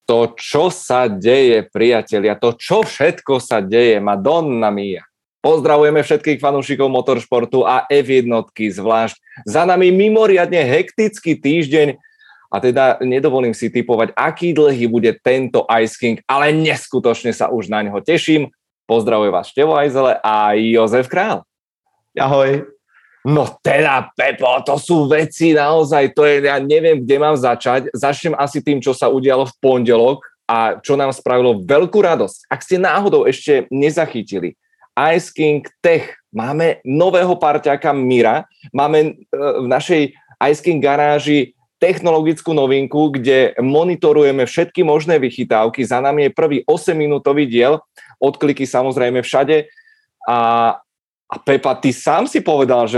to, čo sa deje, priatelia, to, čo všetko sa deje, Madonna mia. Pozdravujeme všetkých fanúšikov motoršportu a F1 zvlášť. Za nami mimoriadne hektický týždeň a teda nedovolím si tipovať, aký dlhý bude tento Ice King, ale neskutočne sa už na ňo teším. Pozdravujem vás Števo Ajzele a Jozef Král. Ahoj. No teda, Pepo, to sú veci naozaj, to je, ja neviem, kde mám začať. Začnem asi tým, čo sa udialo v pondelok a čo nám spravilo veľkú radosť. Ak ste náhodou ešte nezachytili, Ice King Tech, máme nového parťáka Mira, máme v našej Ice King garáži technologickú novinku, kde monitorujeme všetky možné vychytávky. Za nami je prvý 8-minútový diel, odkliky samozrejme všade a Pepa, ty sám si povedal, že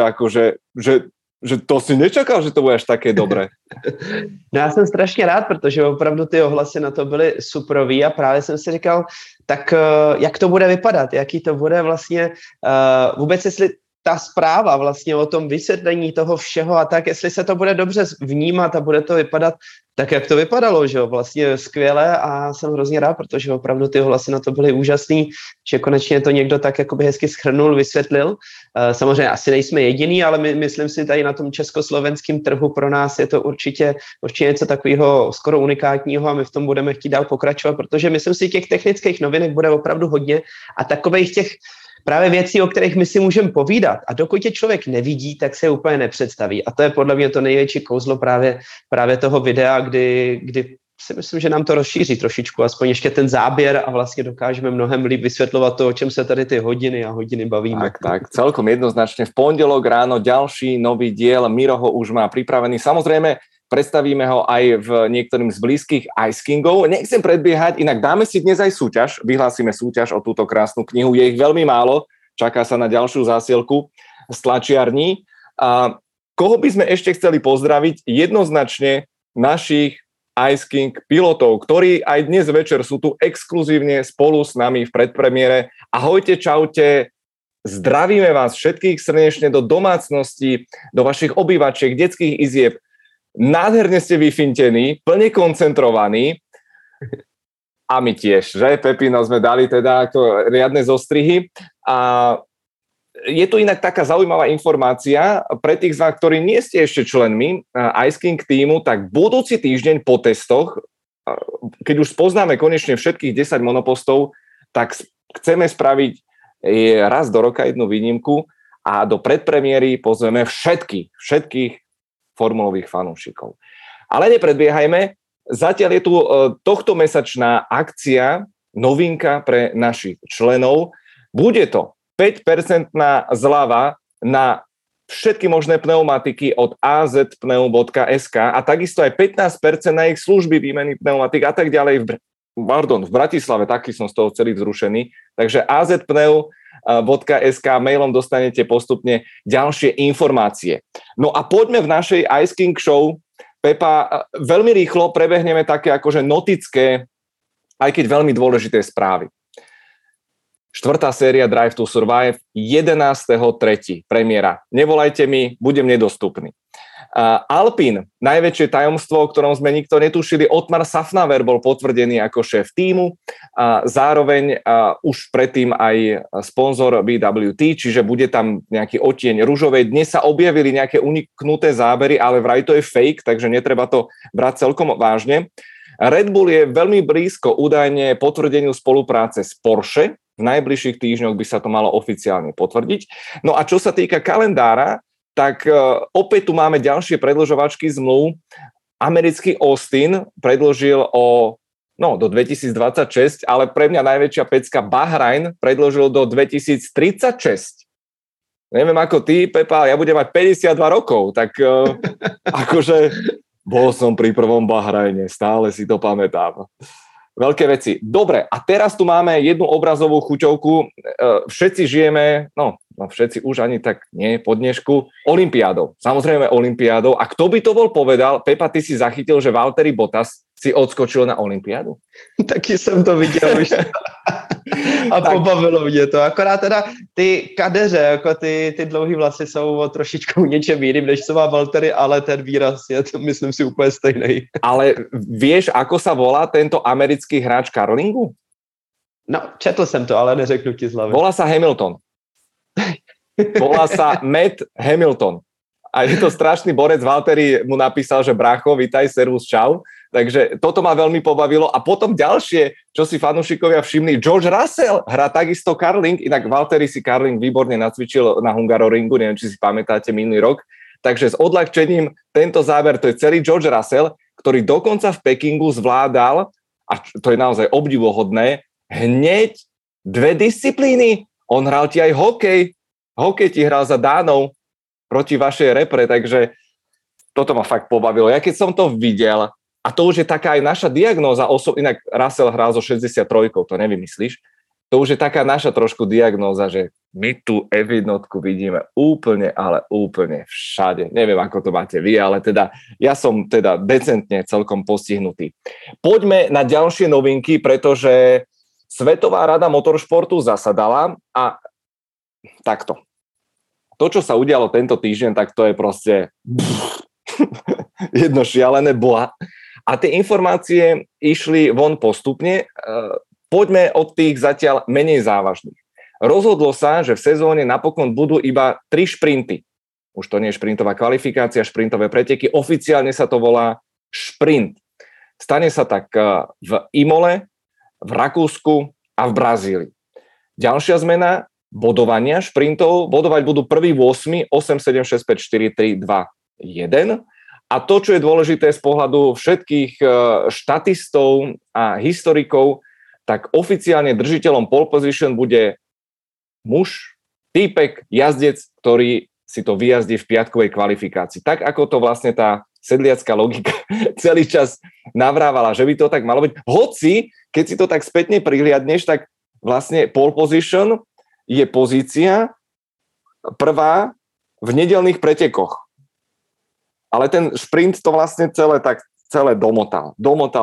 to si nečakal, že to bude až také dobré. No já jsem strašně rád, protože opravdu ty ohlasy na to byly superový a právě jsem si říkal, tak jak to bude vypadat, jaký to bude vlastně vůbec, jestli ta zpráva vlastně o tom vysvětlení toho všeho a tak, jestli se to bude dobře vnímat a bude to vypadat tak, jak to vypadalo, že jo, vlastně skvěle a jsem hrozně rád, protože opravdu ty hlasy na to byly úžasný, že konečně to někdo tak jakoby hezky shrnul, vysvětlil. Samozřejmě asi nejsme jediný, ale myslím si tady na tom československém trhu pro nás je to určitě něco takového skoro unikátního a my v tom budeme chtít dál pokračovat, protože myslím si, těch technických novinek bude opravdu hodně a takových těch právě věcí, o kterých my si můžeme povídat. A dokud je člověk nevidí, tak se je úplně nepředstaví. A to je podle mě to největší kouzlo právě toho videa, kdy si myslím, že nám to rozšíří trošičku, aspoň ještě ten záběr a vlastně dokážeme mnohem líp vysvětlovat to, o čem se tady ty hodiny a hodiny bavíme. Tak, celkom jednoznačne. V pondelok ráno ďalší nový diel, Miro ho už má pripravený. Samozrejme, predstavíme ho aj v niektorým z blízkych Ice Kingov. Nechcem predbiehať, inak dáme si dnes aj súťaž. Vyhlásime súťaž o túto krásnu knihu. Je ich veľmi málo. Čaká sa na ďalšiu zásielku z tlačiarní. A koho by sme ešte chceli pozdraviť? Jednoznačne našich Ice King pilotov, ktorí aj dnes večer sú tu exkluzívne spolu s nami v predpremiére. Ahojte, čaute. Zdravíme vás všetkých srdečne do domácnosti, do vašich obývačiek, detských izieb. Nádherne ste vyfintení, plne koncentrovaní a my tiež, že? Pepino sme dali teda ako riadne zostrihy a je tu inak taká zaujímavá informácia pre tých z vás, ktorí nie ste ešte členmi Ice King týmu, tak budúci týždeň po testoch, keď už spoznáme konečne všetkých 10 monopostov, tak chceme spraviť raz do roka jednu výnimku a do predpremiéry pozveme všetkých formulových fanúšikov. Ale nepredbiehajme, zatiaľ je tu tohtomesačná akcia, novinka pre našich členov. Bude to 5% zľava na všetky možné pneumatiky od azpneu.sk a takisto aj 15% na ich služby výmeny pneumatik a tak ďalej v Bratislave, taký som z toho celý vzrušený. Takže azpneu.sk mailom dostanete postupne ďalšie informácie. No a poďme v našej Ice King Show. Pepa, veľmi rýchlo prebehneme také akože notické, aj keď veľmi dôležité správy. 4. séria Drive to Survive, 11.3. premiéra. Nevolajte mi, budem nedostupný. Alpine, najväčšie tajomstvo, o ktorom sme nikto netušili, Otmar Szafnauer bol potvrdený ako šéf tímu a zároveň už predtým aj sponzor BWT, čiže bude tam nejaký odtieň ružovej. Dnes sa objavili nejaké uniknuté zábery, ale vraj to je fake, takže netreba to brať celkom vážne. Red Bull je veľmi blízko údajne potvrdeniu spolupráce s Porsche. V najbližších týždňoch by sa to malo oficiálne potvrdiť. No a čo sa týka kalendára, tak opäť tu máme ďalšie predĺžovačky zmluv. Americký Austin predĺžil do 2026, ale pre mňa najväčšia pecka Bahrain predĺžil do 2036. Neviem ako ty, Pepa, ja budem mať 52 rokov, tak akože bol som pri prvom Bahrajne, stále si to pamätám. Veľké veci. Dobre, a teraz tu máme jednu obrazovú chuťovku. Všetci žijeme, no všetci už ani tak nie po dnešku, olympiádou. Samozrejme olympiádou. A kto by to bol povedal? Pepa, ty si zachytil, že Valtteri Bottas si odskočil na olympiádu? Taky jsem to viděl už. A pobavilo mě to. Akorát teda ty kadeře, jako ty dlouhý vlasy jsou o trošičku něčem jiným, než co má Valtteri, ale ten výraz je, to myslím si, úplně stejný. Ale vieš, ako sa volá tento americký hráč curlingu? No, četl jsem to, ale neřeknu ti z hlavy. Volá sa Hamilton. Volá sa Matt Hamilton. A je to strašný borec. Valtteri mu napísal, že brácho, vitaj, servus, čau. Takže toto ma veľmi pobavilo. A potom ďalšie, čo si fanúšikovia všimli, George Russell hrá takisto curling, inak Valtteri si curling výborne nacvičil na Hungaroringu, neviem, či si pamätáte minulý rok. Takže s odľahčením tento záber, to je celý George Russell, ktorý dokonca v Pekingu zvládal, a to je naozaj obdivuhodné, hneď 2 disciplíny. On hral ti aj hokej. Hokej ti hral za Dánov proti vašej repre, takže toto ma fakt pobavilo. Ja keď som to videl, a to už je taká aj naša diagnóza, inak Russell hral zo 63, to nevymyslíš, to už je taká naša trošku diagnóza, že my tú F1 vidíme úplne, ale úplne všade. Neviem, ako to máte vy, ale teda ja som teda decentne celkom postihnutý. Poďme na ďalšie novinky, pretože Svetová rada motoršportu zasadala a takto. To, čo sa udialo tento týždeň, tak to je proste jedno šialené boha. A tie informácie išli von postupne. Poďme od tých zatiaľ menej závažných. Rozhodlo sa, že v sezóne napokon budú iba 3 šprinty. Už to nie je šprintová kvalifikácia, šprintové preteky. Oficiálne sa to volá šprint. Stane sa tak v Imole, v Rakúsku a v Brazílii. Ďalšia zmena, bodovania šprintov. Bodovať budú 1. 8, 8, 7, 6, 5, 4, 3, 2, 1. A to, čo je dôležité z pohľadu všetkých štatistov a historikov, tak oficiálne držiteľom pole position bude muž, týpek, jazdec, ktorý si to vyjazdí v piatkovej kvalifikácii. Tak, ako to vlastne tá sedliacká logika celý čas navrávala, že by to tak malo byť. Hoci, keď si to tak spätne prihliadneš, tak vlastne pole position je pozícia prvá v nedeľných pretekoch. Ale ten šprint to vlastne celé domotal.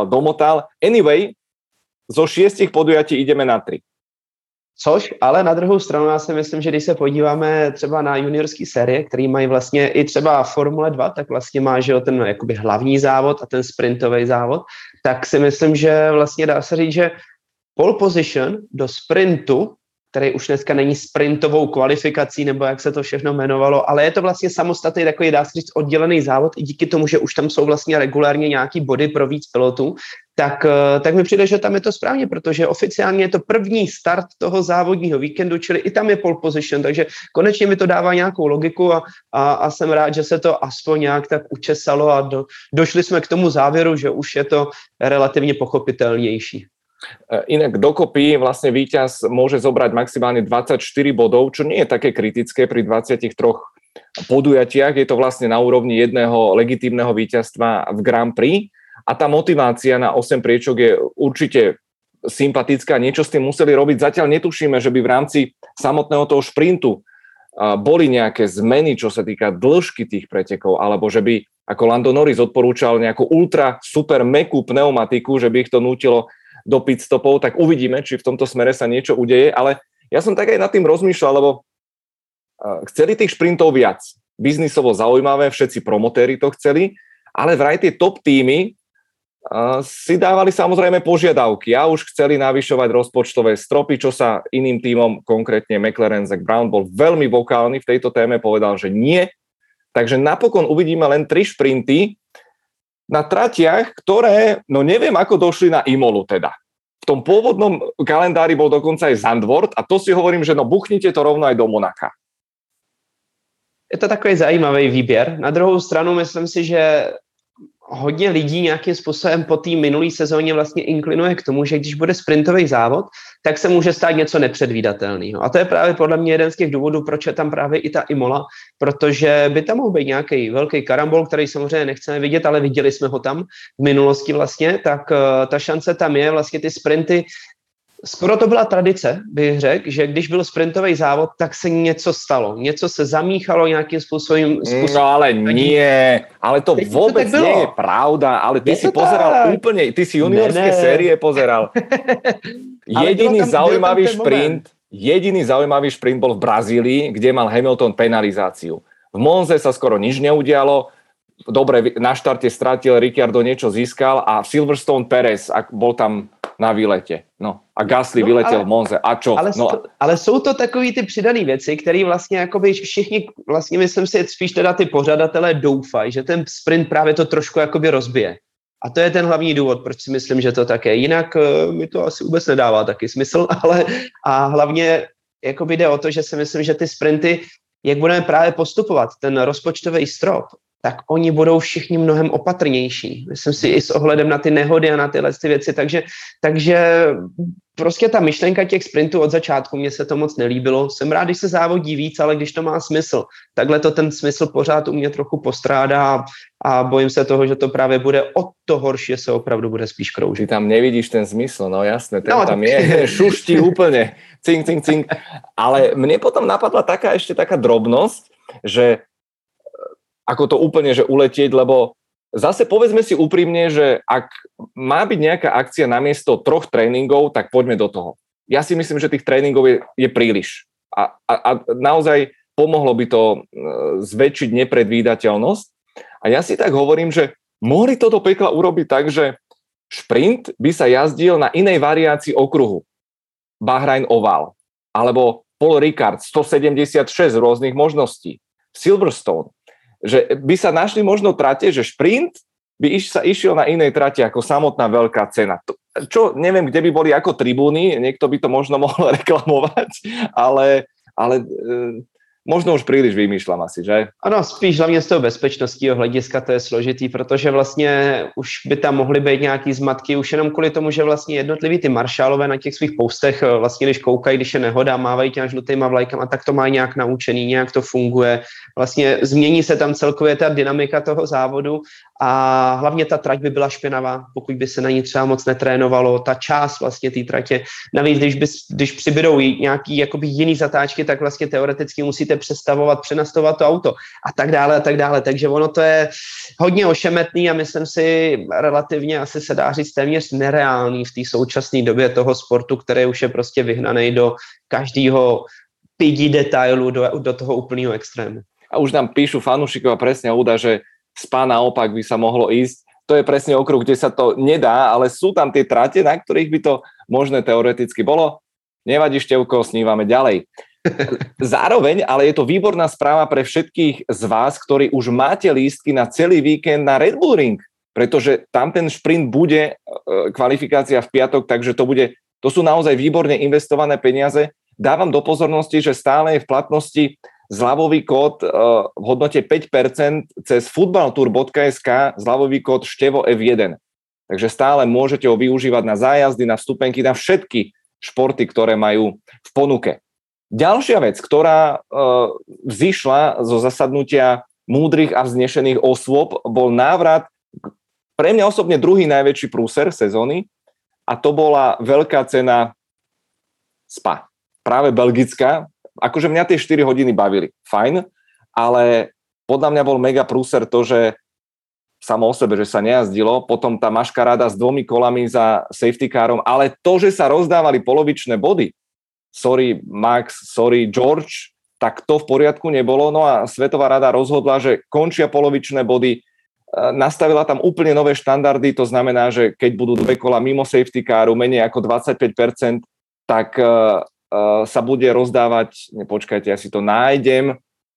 Anyway, zo 6 podujatí ideme na 3. Což, ale na druhou stranu já si myslím, že když se podíváme třeba na juniorský série, který mají vlastně i třeba Formule 2, tak vlastně má, že ten jakoby hlavní závod a ten sprintový závod, tak si myslím, že vlastně dá se říct, že pole position do sprintu, který už dneska není sprintovou kvalifikací, nebo jak se to všechno jmenovalo, ale je to vlastně samostatný takový, dá se říct, oddělený závod i díky tomu, že už tam jsou vlastně regulárně nějaký body pro víc pilotů, tak mi přijde, že tam je to správně, protože oficiálně je to první start toho závodního víkendu, čili i tam je pole position, takže konečně mi to dává nějakou logiku a jsem rád, že se to aspoň nějak tak učesalo a došli jsme k tomu závěru, že už je to relativně pochopitelnější. Inak dokopy vlastne víťaz môže zobrať maximálne 24 bodov, čo nie je také kritické pri 23 podujatiach. Je to vlastne na úrovni jedného legitímneho víťazstva v Grand Prix a tá motivácia na 8 priečok je určite sympatická. Niečo s tým museli robiť. Zatiaľ netušíme, že by v rámci samotného toho šprintu boli nejaké zmeny, čo sa týka dĺžky tých pretekov, alebo že by, ako Lando Norris odporúčal, nejakú ultra super mäkkú pneumatiku, že by ich to nútilo do pitstopov, tak uvidíme, či v tomto smere sa niečo udeje, ale ja som tak aj nad tým rozmýšľal, lebo chceli tých šprintov viac. Biznisovo zaujímavé, všetci promotéri to chceli, ale vraj tie top týmy si dávali samozrejme požiadavky a už chceli navyšovať rozpočtové stropy, čo sa iným týmom, konkrétne McLaren, Zak Brown, bol veľmi vokálny v tejto téme, povedal, že nie. Takže napokon uvidíme len 3 šprinty na tratiach, ktoré, no neviem, ako došli na Imolu teda. V tom pôvodnom kalendári bol dokonca aj Zandvoort a to si hovorím, že no buchnite to rovno aj do Monaka. Je to takový zajímavý výběr. Na druhou stranu myslím si, že hodně lidí nějakým způsobem po té minulé sezóně vlastně inklinuje k tomu, že když bude sprintový závod, tak se může stát něco nepředvídatelného. A to je právě podle mě jeden z těch důvodů, proč je tam právě i ta Imola, protože by tam mohl být nějaký velký karambol, který samozřejmě nechceme vidět, ale viděli jsme ho tam v minulosti vlastně, tak ta šance tam je, vlastně ty sprinty Skoro to byla tradice, bych řekl, že když byl sprintový závod, tak se něco stalo. Něco se zamíchalo nějakým způsobem. No ale nie, ale to vôbec to nie je pravda, ale ty si pozeral tak úplne, ty si juniorské série pozeral. Jediný zaujímavý šprint bol v Brazílii, kde mal Hamilton penalizáciu. V Monze sa skoro nič neudialo. Dobre, na štarte stratil, Ricciardo niečo získal a Silverstone Perez bol tam na výlete. No a Gasly vyletěl v Monze. A čo? Ale jsou to takový ty přidané věci, které vlastně jakoby všichni, vlastně myslím si, spíš teda ty pořadatelé doufají, že ten sprint právě to trošku jakoby rozbije. A to je ten hlavní důvod, proč si myslím, že to tak je. Jinak mi to asi vůbec nedává taky smysl, ale a hlavně jakoby jde o to, že si myslím, že ty sprinty, jak budeme právě postupovat, ten rozpočtový strop, tak oni budou všichni mnohem opatrnější. Myslím si i s ohledem na ty nehody a na tyhle ty věci. Takže prostě ta myšlenka těch sprintů od začátku, mně se to moc nelíbilo. Jsem rád, když se závodí víc, ale když to má smysl. Takhle to ten smysl pořád u mě trochu postrádá a bojím se toho, že to právě bude o to horší, že se opravdu bude spíš kroužit. Ty tam nevidíš ten smysl, no jasné, ten tam je, šuští úplne, cink, cink, cink. Ale mne potom napadla ešte taká drobnosť, že ako to úplne, že uletieť, lebo zase povedzme si úprimne, že ak má byť nejaká akcia namiesto 3 tréningov, tak poďme do toho. Ja si myslím, že tých tréningov je príliš. A naozaj pomohlo by to zväčšiť nepredvídateľnosť. A ja si tak hovorím, že mohli toto pekla urobiť tak, že šprint by sa jazdil na inej variácii okruhu. Bahrain Oval. Alebo Paul Ricard, 176 rôznych možností. Silverstone. Že by sa našli možno trate, že šprint by sa išiel na inej trate ako samotná veľká cena. Čo, neviem, kde by boli ako tribúny, niekto by to možno mohol reklamovať, ale možno už příliš vymýšlám asi, že? Ano, spíš hlavně z toho bezpečnostního hlediska to je složitý, protože vlastně už by tam mohly být nějaký zmatky, už jenom kvůli tomu, že vlastně jednotliví ty maršálové na těch svých postech vlastně, když koukají, když je nehoda, mávají těma žlutýma vlajkama, tak to mají nějak naučený, nějak to funguje. Vlastně změní se tam celkově ta dynamika toho závodu a hlavně ta trať by byla špinavá, pokud by se na ní třeba moc netrénovalo, ta část vlastně té tratě. Navíc, když přibydou nějaký jakoby jiný zatáčky, tak vlastně teoreticky musíte přestavovat, přenastavovat to auto a tak dále. Takže ono to je hodně ošemetný a myslím si relativně asi se dá říct téměř nereálný v té současné době toho sportu, který už je prostě vyhnaný do každého pidi detailu, do toho úplného extrému. A už nám píšu fanúšikov a presne Ouda, že Spa naopak by sa mohlo ísť. To je presne okruh, kde sa to nedá, ale sú tam tie trate, na ktorých by to možné teoreticky bolo. Nevadí, Števko, snívame ďalej. Zároveň, ale je to výborná správa pre všetkých z vás, ktorí už máte lístky na celý víkend na Red Bull Ring, pretože tam ten šprint bude, kvalifikácia v piatok, takže to sú naozaj výborne investované peniaze. Dávam do pozornosti, že stále je v platnosti zľavový kód v hodnote 5% cez footballtour.sk, zľavový kód Števo F1. Takže stále môžete ho využívať na zájazdy, na vstupenky, na všetky športy, ktoré majú v ponuke. Ďalšia vec, ktorá vzýšla zo zasadnutia múdrych a vznešených osôb, bol návrat, pre mňa osobne druhý najväčší prúser sezóny, a to bola veľká cena Spa. Práve belgická. Akože mňa tie 4 hodiny bavili. Fajn, ale podľa mňa bol mega prúser to, že samo o sebe, že sa nejazdilo, potom tá maškaráda s 2 kolami za safety carom, ale to, že sa rozdávali polovičné body, sorry Max, sorry George, tak to v poriadku nebolo. No a Svetová rada rozhodla, že končia polovičné body, nastavila tam úplne nové štandardy, to znamená, že keď budú 2 kola mimo safety caru, menej ako 25%, tak sa bude rozdávať, počkajte, ja si to nájdem,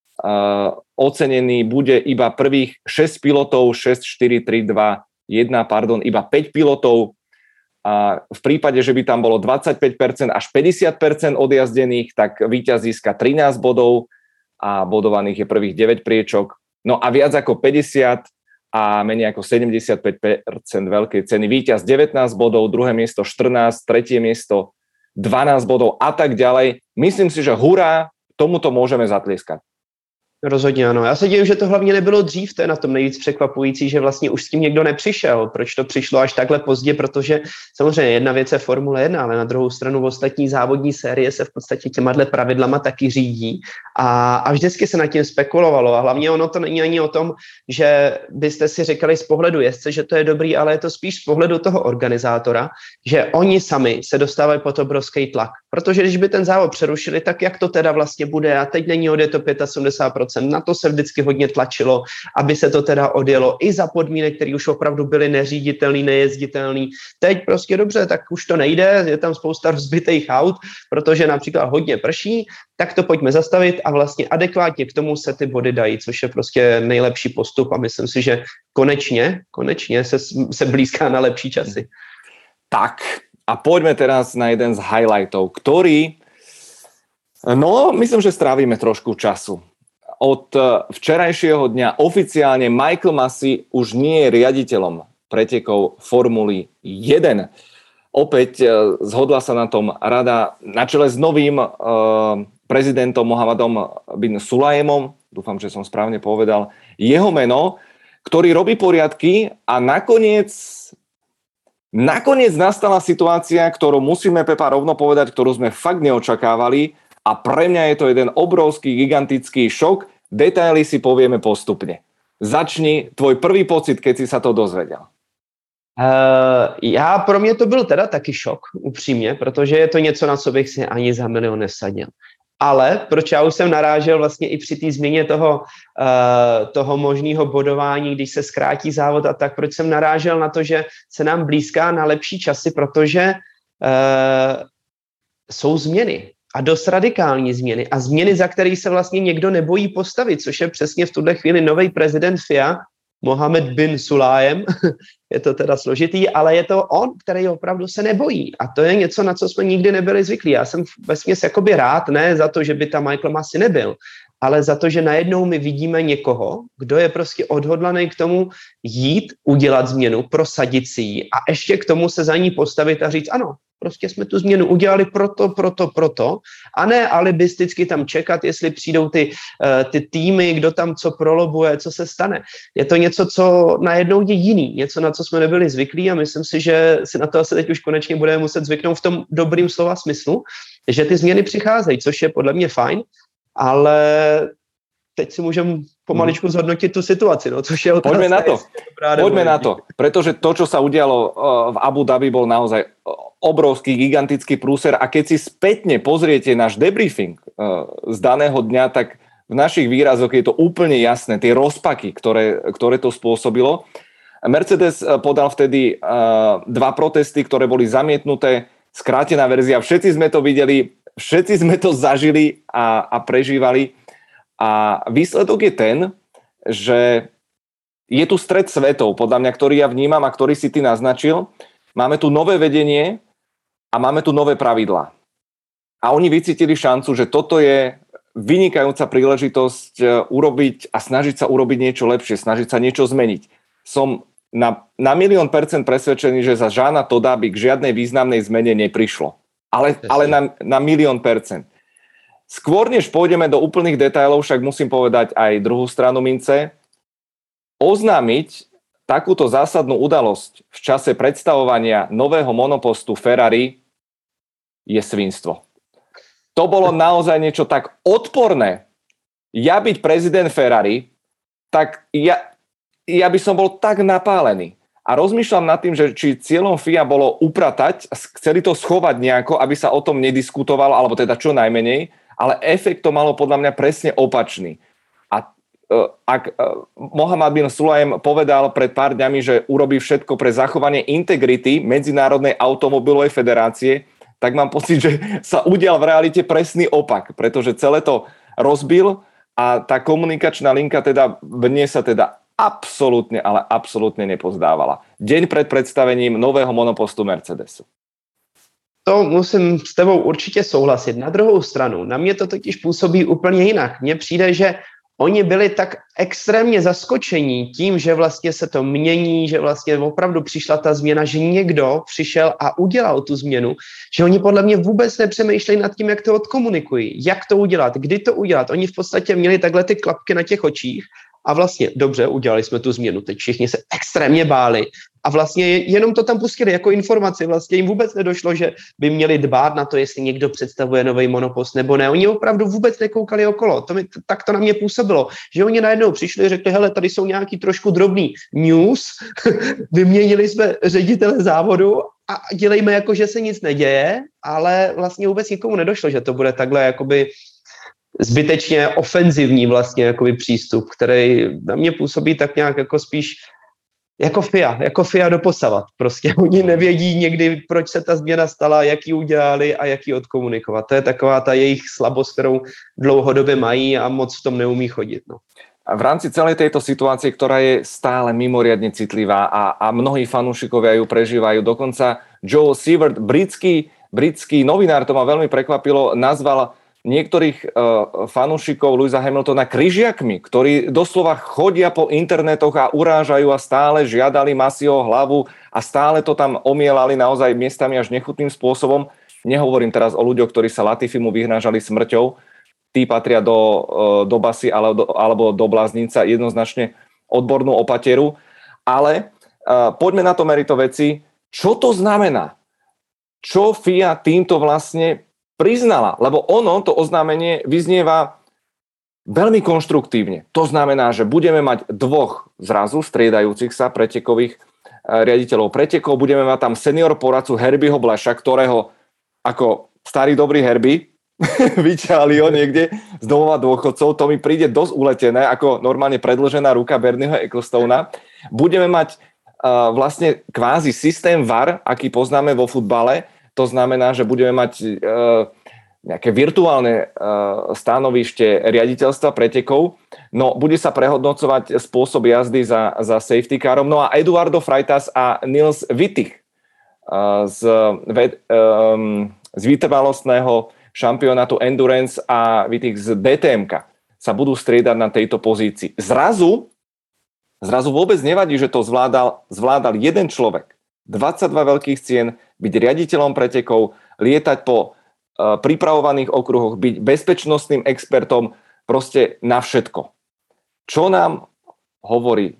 ocenený bude iba prvých 6 pilotov, 6, 4, 3, 2, 1, iba 5 pilotov. A v prípade, že by tam bolo 25% až 50% odjazdených, tak víťaz získa 13 bodov a bodovaných je prvých 9 priečok. No a viac ako 50 a menej ako 75% veľkej ceny. Víťaz 19 bodov, druhé miesto 14, tretie miesto 12 bodov a tak ďalej. Myslím si, že hurá, tomuto môžeme zatlieskať. Rozhodně ano. Já se divím, že to hlavně nebylo dřív, to je na tom nejvíc překvapující, že vlastně už s tím někdo nepřišel. Proč to přišlo až takhle pozdě? Protože samozřejmě jedna věc je Formule 1, ale na druhou stranu ostatní závodní série se v podstatě těma pravidlama taky řídí a vždycky se nad tím spekulovalo. A hlavně ono to není ani o tom, že byste si říkali z pohledu jezdce, že to je dobrý, ale je to spíš z pohledu toho organizátora, že oni sami se dostávají pod obrovský tlak. Protože když by ten závod přerušili, tak jak to teda vlastně bude? A teď není odjeto 75%. Na to se vždycky hodně tlačilo, aby se to teda odjelo i za podmínek, které už opravdu byly neříditelný, nejezditelný. Teď prostě dobře, tak už to nejde, je tam spousta rozbitých aut, protože například hodně prší, tak to pojďme zastavit a vlastně adekvátně k tomu se ty body dají, což je prostě nejlepší postup a myslím si, že konečně se blízká na lepší časy. Tak a poďme teraz na jeden z highlightov, ktorý, no myslím, že strávime trošku času. Od včerajšieho dňa oficiálne Michael Masi už nie je riaditeľom pretekov Formuly 1. Opäť zhodla sa na tom rada na čele s novým prezidentom Mohamedom bin Sulajemom, dúfam, že som správne povedal jeho meno, ktorý robí poriadky a nakoniec nastala situácia, ktorú musíme, Pepa, rovno povedať, ktorú sme fakt neočakávali a pre mňa je to jeden obrovský, gigantický šok. Detaily si povieme postupne. Začni tvoj prvý pocit, keď si sa to dozvedel. Pro mě to byl teda taky šok, upřímně, protože je to něco, na co bych si ani za milion nesadil. Ale proč já už jsem narážel vlastně i při té změně toho možného bodování, když se zkrátí závod a tak, proč jsem narážel na to, že se nám blízká na lepší časy, protože jsou změny a dost radikální změny a změny, za které se vlastně někdo nebojí postavit, což je přesně v tuhle chvíli nový prezident FIA, Mohamed bin Sulajem, je to teda složitý, ale je to on, který opravdu se nebojí. A to je něco, na co jsme nikdy nebyli zvyklí. Já jsem vesměs jakoby rád, ne za to, že by tam Michael Masi nebyl, ale za to, že najednou my vidíme někoho, kdo je prostě odhodlaný k tomu jít, udělat změnu, prosadit si ji a ještě k tomu se za ní postavit a říct ano, prostě jsme tu změnu udělali proto a ne alibisticky tam čekat, jestli přijdou ty týmy, kdo tam co prolobuje, co se stane. Je to něco, co najednou je jiný, něco, na co jsme nebyli zvyklí a myslím si, že si na to asi teď už konečně budeme muset zvyknout v tom dobrým slova smyslu, že ty změny přicházejí, což je podle mě fajn, ale teď si můžeme pomaličku zhodnotit tu situaci, no, což je otázka. Poďme na to, pretože to, čo sa udialo v Abu Dhabi, bol naozaj obrovský, gigantický prúser a keď si spätne pozriete náš debriefing z daného dňa, tak v našich výrazoch je to úplne jasné, tie rozpaky, ktoré to spôsobilo. Mercedes podal vtedy dva protesty, ktoré boli zamietnuté, skrátená verzia, všetci sme to videli, všetci sme to zažili a prežívali. A výsledok je ten, že je tu stret svetov, podľa mňa, ktorý ja vnímam a ktorý si ty naznačil. Máme tu nové vedenie a máme tu nové pravidlá. A oni vycítili šancu, že toto je vynikajúca príležitosť urobiť a snažiť sa urobiť niečo lepšie, snažiť sa niečo zmeniť. Som na 1,000,000% presvedčený, že za Jeana Todda by k žiadnej významnej zmene neprišlo. Ale na 1,000,000%. Skôr než pôjdeme do úplných detailov, však musím povedať aj druhú stranu mince. Oznámiť takúto zásadnú udalosť v čase predstavovania nového monopostu Ferrari je svinstvo. To bolo naozaj niečo tak odporné. Ja byť prezident Ferrari, tak ja by som bol tak napálený. A rozmýšľam nad tým, že či cieľom FIA bolo upratať, chceli to schovať nejako, aby sa o tom nediskutovalo, alebo teda čo najmenej, ale efekt to malo podľa mňa presne opačný. A ak Mohamed bin Sulajem povedal pred pár dňami, že urobí všetko pre zachovanie integrity Medzinárodnej automobilovej federácie, tak mám pocit, že sa udial v realite presný opak, pretože celé to rozbil a tá komunikačná linka teda mne sa teda absolútne, ale absolútne nepozdávala. Deň pred predstavením nového monopostu Mercedesu. To musím s tebou určitě souhlasit. Na druhou stranu, na mě to totiž působí úplně jinak. Mně přijde, že oni byli tak extrémně zaskočení tím, že vlastně se to mění, že vlastně opravdu přišla ta změna, že někdo přišel a udělal tu změnu, že oni podle mě vůbec nepřemýšlejí nad tím, jak to odkomunikují, jak to udělat, kdy to udělat. Oni v podstatě měli takhle ty klapky na těch očích a vlastně dobře, udělali jsme tu změnu, teď všichni se extrémně báli a vlastně jenom to tam pustili jako informaci, vlastně jim vůbec nedošlo, že by měli dbát na to, jestli někdo představuje nový monopost nebo ne. Oni opravdu vůbec nekoukali okolo, tak to na mě působilo, že oni najednou přišli a řekli, hele, tady jsou nějaký trošku drobný news, vyměnili jsme ředitele závodu a dělejme jako, že se nic neděje, ale vlastně vůbec nikomu nedošlo, že to bude takhle jakoby zbytečně ofenzivní vlastně jakoby přístup, který na mě působí tak nějak jako spíš jako FIA doposavat. Prostě oni nevědí někdy, proč se ta změna stala, jak ji udělali a jak ji odkomunikovat. To je taková ta jejich slabost, kterou dlouhodobě mají a moc v tom neumí chodit. No. A v rámci celej tejto situácie, ktorá je stále mimoriadne citlivá a mnohí fanúšikovia ju prežívajú, dokonca Joel Siewert, britský novinár, to ma veľmi prekvapilo, nazval niektorých fanúšikov Lewisa Hamiltona križiakmi, ktorí doslova chodia po internetoch a urážajú a stále žiadali Masseyho hlavu a stále to tam omielali naozaj miestami až nechutným spôsobom. Nehovorím teraz o ľuďoch, ktorí sa Latifimu vyhnážali smrťou, tí patria do basy alebo do bláznica, jednoznačne odbornú opateru, ale poďme na to merito veci. Čo to znamená? Čo FIA týmto vlastne priznala, lebo ono, to oznámenie, vyznieva veľmi konštruktívne. To znamená, že budeme mať dvoch zrazu striedajúcich sa pretekových riaditeľov pretekov, budeme mať tam senior poradcu Herbieho Blasha, ktorého ako starý dobrý Herbie vyťahli ho niekde z domova dôchodcov, to mi príde dosť uletené, ako normálne predĺžená ruka Bernieho Ecclestona. Budeme mať vlastne kvázi systém VAR, aký poznáme vo futbale. To znamená, že budeme mať nejaké virtuálne stanovište riaditeľstva pretekov. No, bude sa prehodnocovať spôsob jazdy za safety carom. No a Eduardo Freitas a Nils Wittich z vytrvalostného šampionátu Endurance a Wittich z DTMka sa budú striedať na tejto pozícii. Zrazu vôbec nevadí, že to zvládal jeden človek. 22 veľkých cien, byť riaditeľom pretekov, lietať po pripravovaných okruhoch, byť bezpečnostným expertom, proste na všetko. Čo nám hovorí?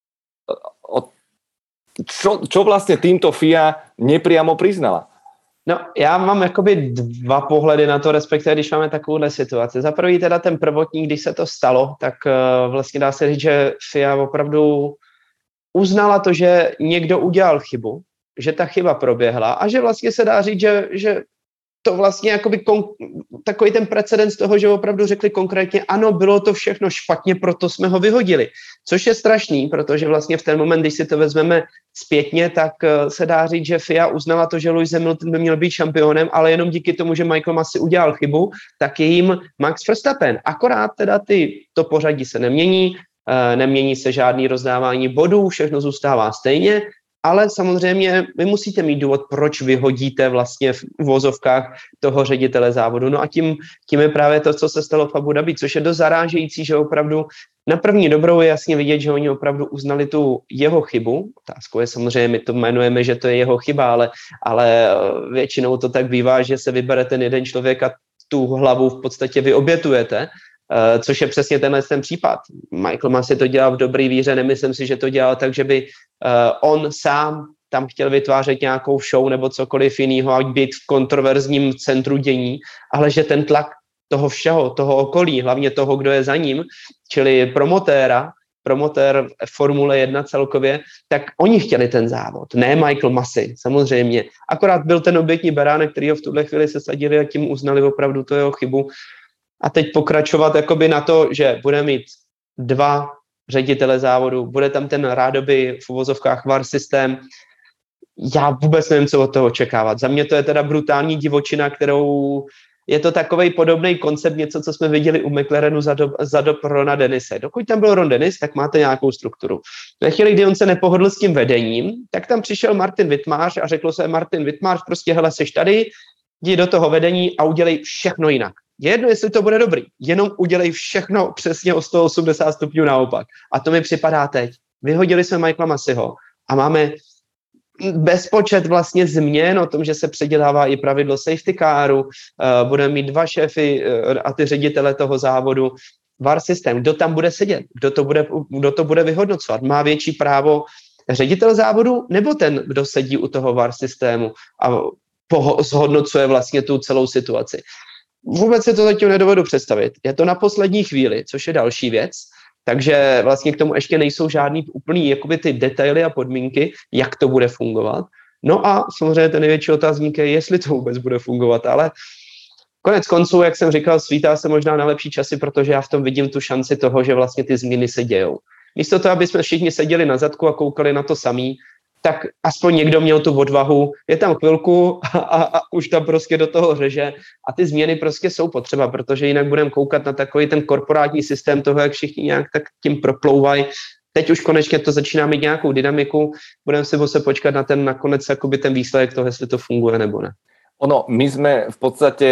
Čo vlastne týmto FIA nepriamo priznala? No, já mám jakoby dva pohledy na to, respektive když máme takovouhle situaci. Za prvý teda ten prvotní, když se to stalo, tak vlastně dá se říct, že FIA opravdu uznala to, že někdo udělal chybu, že ta chyba proběhla a že vlastně se dá říct, že to vlastně jakoby takový ten precedens toho, že opravdu řekli konkrétně, ano, bylo to všechno špatně, proto jsme ho vyhodili. Což je strašný, protože vlastně v ten moment, když si to vezmeme zpětně, tak se dá říct, že FIA uznala to, že Lewis Hamilton by měl být šampionem, ale jenom díky tomu, že Michael Massey udělal chybu, tak je jim Max Verstappen. Akorát teda to pořadí se nemění, nemění se žádný rozdávání bodů, všechno zůstává stejně, ale samozřejmě vy musíte mít důvod, proč vyhodíte vlastně v vozovkách toho ředitele závodu. No a tím je právě to, co se stalo v Abu Dhabi, což je dost zarážející, že opravdu na první dobrou je jasně vidět, že oni opravdu uznali tu jeho chybu. Otázkou je samozřejmě, my to jmenujeme, že to je jeho chyba, ale většinou to tak bývá, že se vybere ten jeden člověk a tu hlavu v podstatě vy obětujete. Což je přesně ten případ. Michael Massey to dělal v dobrý víře, nemyslím si, že to dělal tak, že by on sám tam chtěl vytvářet nějakou show nebo cokoliv jiného a být v kontroverzním centru dění, ale že ten tlak toho všeho, toho okolí, hlavně toho, kdo je za ním, čili promotér Formule 1 celkově, tak oni chtěli ten závod, ne Michael Massey, samozřejmě. Akorát byl ten obětní beránek, který ho v tuhle chvíli sesadili a tím uznali opravdu to jeho chybu. A teď pokračovat jakoby na to, že bude mít dva ředitele závodu, bude tam ten rádoby v uvozovkách VAR systém. Já vůbec nevím, co od toho očekávat. Za mě to je teda brutální divočina, kterou je to takovej podobný koncept, něco, co jsme viděli u McLarenu za dob Rona Dennise. Dokud tam byl Ron Dennis, tak máte nějakou strukturu. Ve chvíli, kdy on se nepohodl s tím vedením, tak tam přišel Martin Wittmář a řeklo se, Martin Wittmář, prostě hele, seš tady, jdi do toho vedení a udělej všechno jinak. Je jedno, jestli to bude dobrý, jenom udělej všechno přesně o 180 stupňů naopak. A to mi připadá teď. Vyhodili jsme Michaela Masseyho a máme bezpočet vlastně změn o tom, že se předělává i pravidlo safety caru, budeme mít 2 šéfy a ty ředitele toho závodu, VAR systém, kdo tam bude sedět, kdo to bude vyhodnocovat, má větší právo ředitel závodu nebo ten, kdo sedí u toho VAR systému a zhodnocuje vlastně tu celou situaci. Vůbec si to zatím nedovedu představit. Je to na poslední chvíli, což je další věc, takže vlastně k tomu ještě nejsou žádný úplný jakoby ty detaily a podmínky, jak to bude fungovat. No a samozřejmě ten největší otázník je, jestli to vůbec bude fungovat, ale konec konců, jak jsem říkal, svítá se možná na lepší časy, protože já v tom vidím tu šanci toho, že vlastně ty změny se dějou. Místo toho, aby jsme všichni seděli na zadku a koukali na to samý, tak aspoň někdo měl tu odvahu, je tam chvilku a už tam prostě do toho řeže a ty změny prostě jsou potřeba, protože jinak budeme koukat na takový ten korporátní systém toho, jak všichni nějak tak tím proplouvají. Teď už konečně to začíná mít nějakou dynamiku, budeme si muset počkat na ten nakonec jakoby ten výsledek toho, jestli to funguje nebo ne. Ono, my sme v podstate,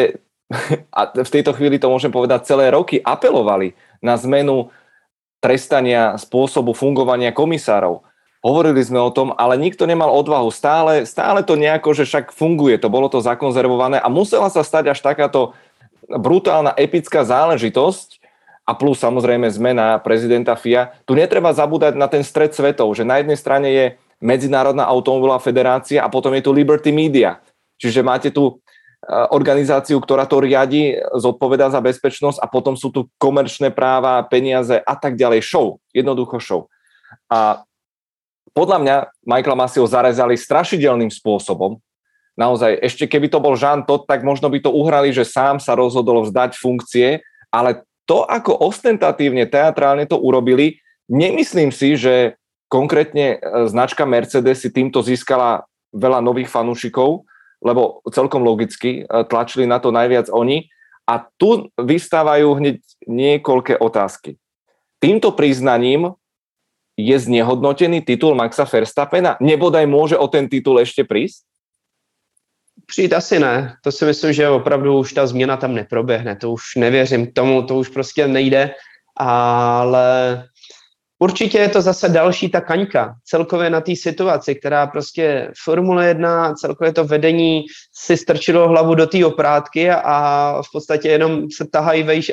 a v tejto chvíli to môžem povedať, celé roky apelovali na zmenu trestania spôsobu fungovania komisárov. Hovorili sme o tom, ale nikto nemal odvahu. Stále to nejako, že však funguje, to bolo to zakonzervované a musela sa stať až takáto brutálna, epická záležitosť a plus samozrejme zmena prezidenta FIA. Tu netreba zabúdať na ten stred svetov, že na jednej strane je Medzinárodná automobilová federácia a potom je tu Liberty Media. Čiže máte tu organizáciu, ktorá to riadi, zodpovedá za bezpečnosť a potom sú tu komerčné práva, peniaze a tak ďalej. Show, jednoducho show. A podľa mňa Michaela Masseyho zarezali strašidelným spôsobom. Naozaj, ešte keby to bol Jean Todt, tak možno by to uhrali, že sám sa rozhodol vzdať funkcie, ale to, ako ostentatívne, teatrálne to urobili, nemyslím si, že konkrétne značka Mercedes si týmto získala veľa nových fanúšikov, lebo celkom logicky tlačili na to najviac oni. A tu vystávajú hneď niekoľké otázky. Týmto priznaním je znehodnotený titul Maxa Verstappena? Nebodaj môže o ten titul ešte prísť? Přijít asi ne. To si myslím, že opravdu už ta změna tam neproběhne. To už nevěřím tomu, to už prostě nejde. Ale určitě je to zase další ta kaňka celkově na té situaci, která prostě Formule 1, celkově to vedení si strčilo hlavu do té oprátky a v podstatě jenom se tahají vejš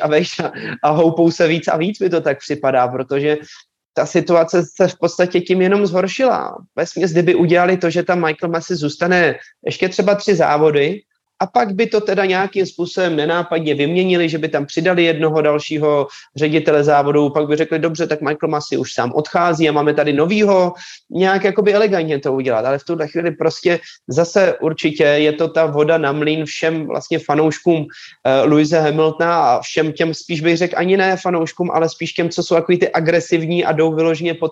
a houpou se víc a víc, mi to tak připadá, protože ta situace se v podstatě tím jenom zhoršila. Vesměs, kdyby udělali to, že tam Michael Massey zůstane ještě třeba 3 závody a pak by to teda nějakým způsobem nenápadně vyměnili, že by tam přidali jednoho dalšího ředitele závodu, pak by řekli, dobře, tak Michael Massey už sám odchází a máme tady novýho, nějak jakoby elegantně to udělat, ale v tuhle chvíli prostě zase určitě je to ta voda na mlýn všem vlastně fanouškům Lewise Hamiltona a všem těm, spíš bych řekl ani ne fanouškům, ale spíš těm, co jsou takový ty agresivní a jdou vyloženě po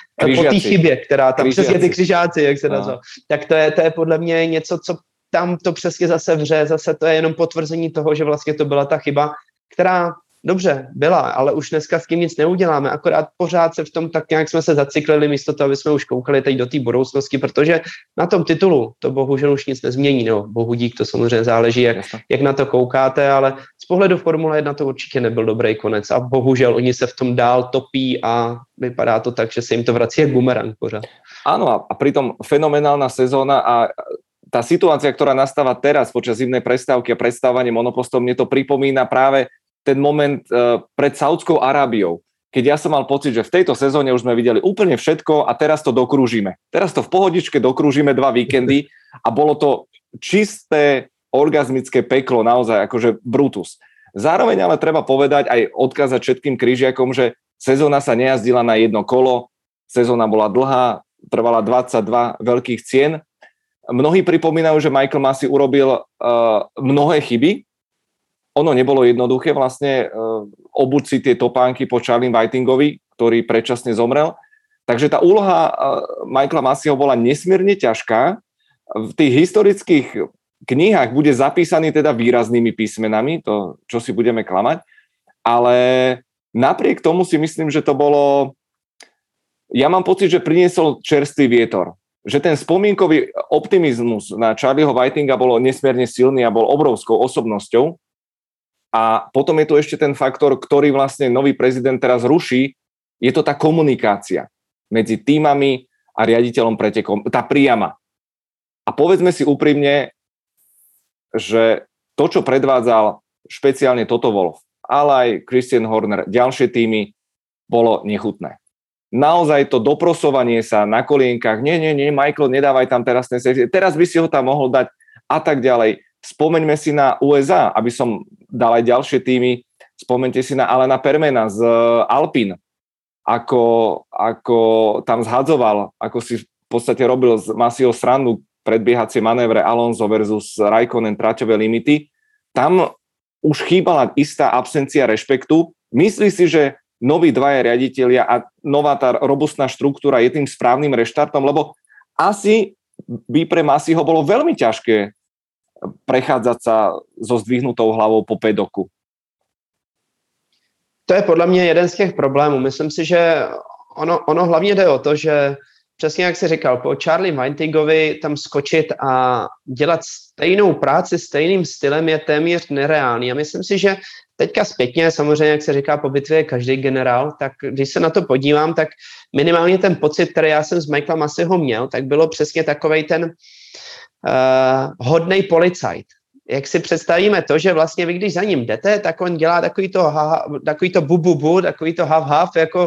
té chybě, která tam přesně ty křižáci, jak se nazval. Tak to je podle mě něco, co tam to přesně zase vře, zase to je jenom potvrzení toho, že vlastně to byla ta chyba, která dobře byla, ale už dneska s tím nic neuděláme, akorát pořád se v tom tak nějak jsme se zacyklili místo toho, aby jsme už koukali teď do té budoucnosti, protože na tom titulu to bohužel už nic nezmění, no bohu dík, to samozřejmě záleží, jak na to koukáte, ale z pohledu Formule 1 to určitě nebyl dobrý konec a bohužel oni se v tom dál topí a vypadá to tak, že se jim to vrací jak bumerang pořád. Áno, a pritom fenomenálna sezóna a tá situácia, ktorá nastáva teraz počas zimnej prestávky a predstavovanie monopostov, mne to pripomína práve ten moment pred Saudskou Arábiou, keď ja som mal pocit, že v tejto sezóne už sme videli úplne všetko a teraz to dokrúžime. Teraz to v pohodičke dokrúžime 2 víkendy a bolo to čisté orgazmické peklo, naozaj akože Brutus. Zároveň ale treba povedať aj odkázať všetkým križiakom, že sezóna sa nejazdila na jedno kolo, sezóna bola dlhá, trvala 22 veľkých cien. Mnohí pripomínajú, že Michael Massey urobil mnohé chyby. Ono nebolo jednoduché vlastne obuť si tie topánky po Charlie Whitingovi, ktorý predčasne zomrel. Takže tá úloha Michaela Masseyho bola nesmierne ťažká. V tých historických knihách bude zapísaný teda výraznými písmenami, to, čo si budeme klamať, ale napriek tomu si myslím, že to bolo... Ja mám pocit, že priniesol čerstvý vietor. Že ten spomienkový optimizmus na Charlieho Whitinga bolo nesmierne silný a bol obrovskou osobnosťou. A potom je tu ešte ten faktor, ktorý vlastne nový prezident teraz ruší, je to tá komunikácia medzi tímami a riaditeľom pretekov, tá priama. A povedzme si úprimne, že to, čo predvádzal špeciálne Toto Wolff, ale aj Christian Horner, ďalšie týmy, bolo nechutné. Naozaj to doprosovanie sa na kolienkach, nie, Michael, nedávaj tam teraz by si ho tam mohol dať a tak ďalej. Spomeňme si na USA, aby som dal aj ďalšie týmy, spomeňte si na Alana Permana z Alpine, ako tam zhadzoval, ako si v podstate robil z Masseyho srandu predbiehacie manévre Alonso versus Raikkonen traťové limity. Tam už chýbala istá absencia rešpektu. Myslí si, že noví dvaja riaditelia a nová tá robustná štruktúra je tým správnym reštartom, lebo asi by pre Masseyho bolo veľmi ťažké prechádzať sa so zdvihnutou hlavou po pedoku. To je podle mě jeden z těch problémů. Myslím si, že ono hlavně jde o to, že přesně jak jsi říkal, po Charlie Whitingovi tam skočit a dělat stejnou práci stejným stylem je téměř nereálný. A myslím si, že teďka zpětně, samozřejmě, jak se říká, po bitvě je každý generál, tak když se na to podívám, tak minimálně ten pocit, který já jsem z Michaela Masseyho měl, tak bylo přesně takovej ten hodnej policajt. Jak si představíme to, že vlastně vy, když za ním jdete, tak on dělá takový to bu, takový to hav, jako,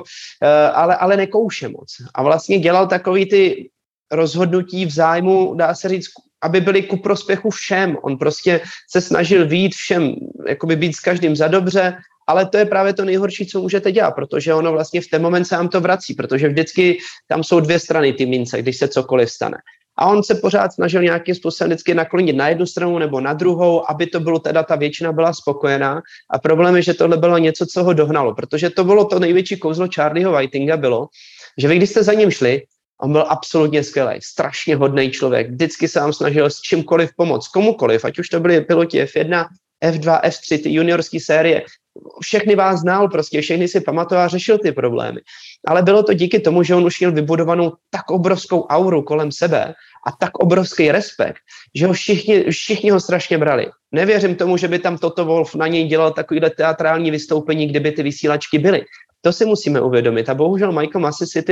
ale nekouše moc. A vlastně dělal takový ty rozhodnutí v zájmu, dá se říct, aby byly ku prospěchu všem. On prostě se snažil vyjít všem, jakoby být s každým za dobře, ale to je právě to nejhorší, co můžete dělat, protože ono vlastně v ten moment se vám to vrací, protože vždycky tam jsou dvě strany ty mince, když se cokoliv stane. A on se pořád snažil nějakým způsobem vždycky naklonit na jednu stranu nebo na druhou, aby to bylo teda, ta většina byla spokojená. A problém je, že tohle bylo něco, co ho dohnalo, protože to bylo to největší kouzlo Charlieho Whitinga bylo, že vy, když jste za ním šli, on byl absolutně skvělý, strašně hodný člověk, vždycky se vám snažil s čímkoliv pomoct, komukoliv, ať už to byli piloti F1, F2, F3, ty juniorské série, všechny vás znal, prostě všechny si pamatoval a řešil ty problémy. Ale bylo to díky tomu, že on už měl vybudovanou tak obrovskou auru kolem sebe a tak obrovský respekt, že ho všichni ho strašně brali. Nevěřím tomu, že by tam Toto Wolff na něj dělal takovýhle teatrální vystoupení, kdyby ty vysílačky byly. To si musíme uvědomit. A bohužel Michael Massey si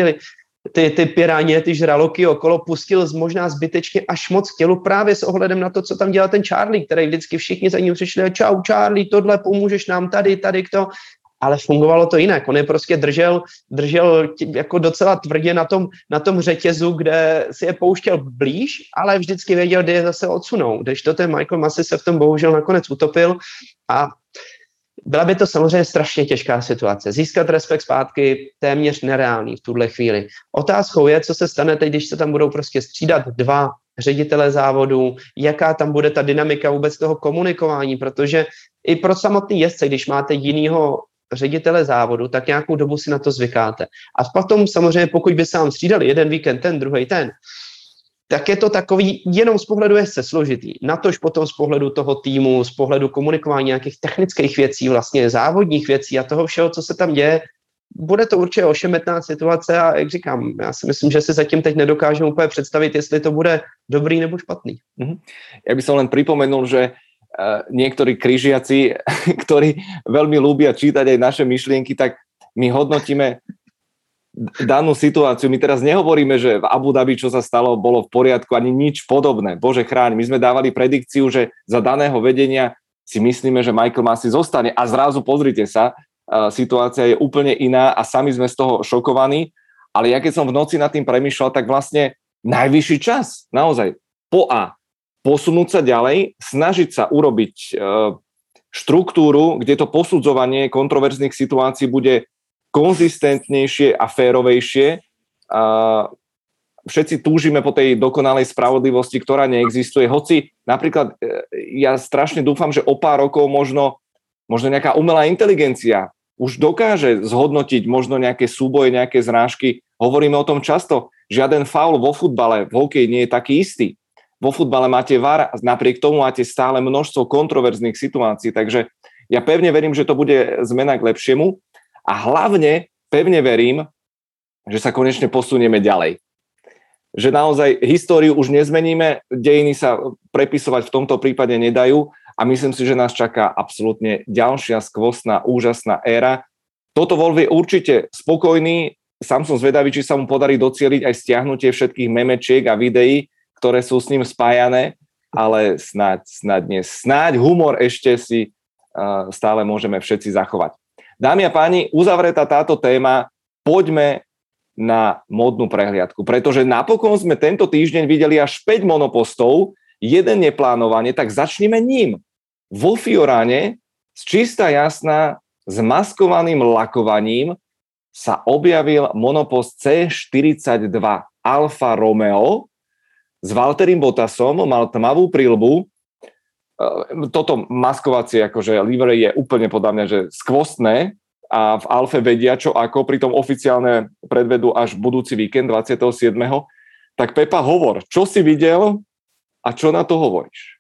ty piráně, ty žraloky okolo pustil možná zbytečně až moc k tělu právě s ohledem na to, co tam dělal ten Charlie, který vždycky všichni za ním přišli, čau Charlie, tohle pomůžeš nám tady kdo. Ale fungovalo to jinak. On je prostě držel jako docela tvrdě na tom řetězu, kde si je pouštěl blíž, ale vždycky věděl, kde je zase odsunou. Když to ten Michael Massey se v tom bohužel nakonec utopil a byla by to samozřejmě strašně těžká situace. Získat respekt zpátky téměř nereálný v tuhle chvíli. Otázkou je, co se stane teď, když se tam budou prostě střídat dva ředitele závodu, jaká tam bude ta dynamika vůbec toho komunikování, protože i pro samotný jezdce, když máte jinýho ředitele závodu, tak nějakou dobu si na to zvykáte. A potom samozřejmě, pokud by se vám střídali jeden víkend ten, druhý ten, tak je to takový jenom z pohledu jezdce složitý. Natož potom z pohledu toho týmu, z pohledu komunikování nějakých technických věcí, vlastně závodních věcí a toho všeho, co se tam děje, bude to určitě ošemetná situace a jak říkám, já si myslím, že si zatím teď nedokážeme úplně představit, jestli to bude dobrý nebo špatný. Ja by som len pripomenul, že niektorí križiaci, ktorí veľmi ľúbia čítať aj naše myšlienky, tak my hodnotíme danú situáciu. My teraz nehovoríme, že v Abu Dhabi, čo sa stalo, bolo v poriadku, ani nič podobné. Bože chráň, my sme dávali predikciu, že za daného vedenia si myslíme, že Michael Massey zostane a zrazu pozrite sa, situácia je úplne iná a sami sme z toho šokovaní. Ale ja keď som v noci nad tým premýšľal, tak vlastne najvyšší čas, naozaj, posunúť sa ďalej, snažiť sa urobiť štruktúru, kde to posudzovanie kontroverzných situácií bude konzistentnejšie a férovejšie. Všetci túžime po tej dokonalej spravodlivosti, ktorá neexistuje. Hoci napríklad ja strašne dúfam, že o pár rokov možno nejaká umelá inteligencia už dokáže zhodnotiť možno nejaké súboje, nejaké zrážky. Hovoríme o tom často. Žiaden faul vo futbale, v hokeji nie je taký istý. Vo futbale máte VAR, napriek tomu máte stále množstvo kontroverzných situácií, takže ja pevne verím, že to bude zmena k lepšiemu a hlavne pevne verím, že sa konečne posunieme ďalej. že naozaj históriu už nezmeníme, dejiny sa prepisovať v tomto prípade nedajú a myslím si, že nás čaká absolútne ďalšia skvostná, úžasná éra. Toto Wolf je určite spokojný, sám som zvedavý, či sa mu podarí docieliť aj stiahnutie všetkých memečiek a videí, ktoré sú s ním spájané, ale snáď humor ešte si stále môžeme všetci zachovať. Dámy a páni, uzavretá táto téma, poďme na módnu prehliadku, pretože napokon sme tento týždeň videli až 5 monopostov, jeden neplánovaný, tak začneme ním. Vo Fiorane z čistá jasná s maskovaným lakovaním sa objavil monopost C42 Alfa Romeo s Valtterim Bottasom, mal tmavú príľbu. Toto maskovacie akože livery je úplne podľa mňa, že skvostné, a v Alfe vedia čo ako, pritom oficiálne predvedú až budúci víkend 27. Tak Pepa, hovor, čo si viděl a čo na to hovoríš?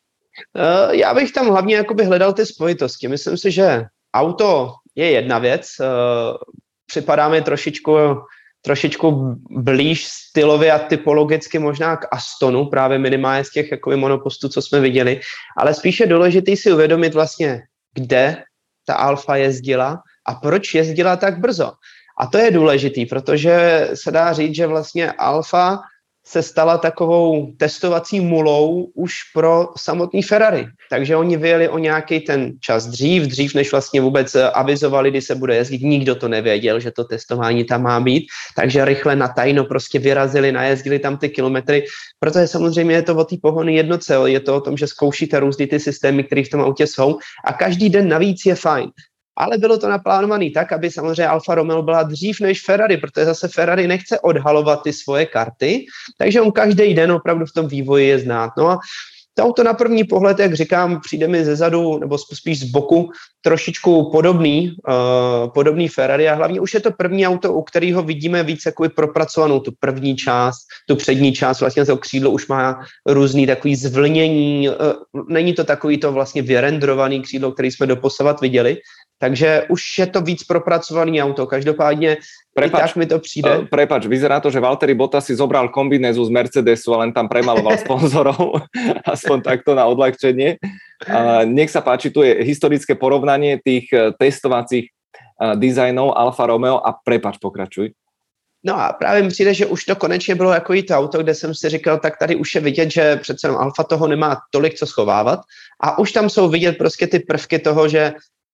Já bych tam hlavně jakoby hledal ty spojitosti. Myslím si, že auto je jedna věc. Připadá mi trošičku blíž stylově a typologicky možná k Astonu, právě minimálně z těch jakoby monopostů, co jsme viděli. Ale spíše je důležitý si uvědomit vlastně, kde ta Alfa jezdila a proč jezdila tak brzo. A to je důležitý, protože se dá říct, že vlastně Alfa se stala takovou testovací mulou už pro samotný Ferrari. Takže oni vyjeli o nějaký ten čas dřív než vlastně vůbec avizovali, kdy se bude jezdit. Nikdo to nevěděl, že to testování tam má být. Takže rychle na tajno prostě vyrazili, najezdili tam ty kilometry, protože samozřejmě je to o té pohonné jednotce, je to o tom, že zkoušíte různý ty systémy, které v tom autě jsou a každý den navíc je fajn. Ale bylo to naplánované tak, aby samozřejmě Alfa Romeo byla dřív než Ferrari, protože zase Ferrari nechce odhalovat ty svoje karty, takže on každý den opravdu v tom vývoji je znát. No a to auto na první pohled, jak říkám, přijde mi zezadu, nebo spíš z boku, trošičku podobný Ferrari a hlavně už je to první auto, u kterého vidíme víc jakoby propracovanou tu první část, tu přední část, vlastně to křídlo už má různý takový zvlnění, není to takový to vlastně vyrendrovaný křídlo, který jsme doposavat viděli, takže už je to víc propracovaný auto. Každopádně tak mi to přijde. Prepač, vyzerá to, že Valtteri Bottas si zobral kombinézu z Mercedesu a len tam premaloval sponzorov, aspoň takto na odľahčenie. Nech sa páči, tu je historické porovnanie tých testovacích designov Alfa Romeo a prepač, pokračuj. No a právě mi přijde, že už to konečně bylo jako to auto, kde jsem si říkal, tak tady už je vidět, že přece Alfa toho nemá tolik co schovávat a už tam jsou vidět prostě ty prvky toho, že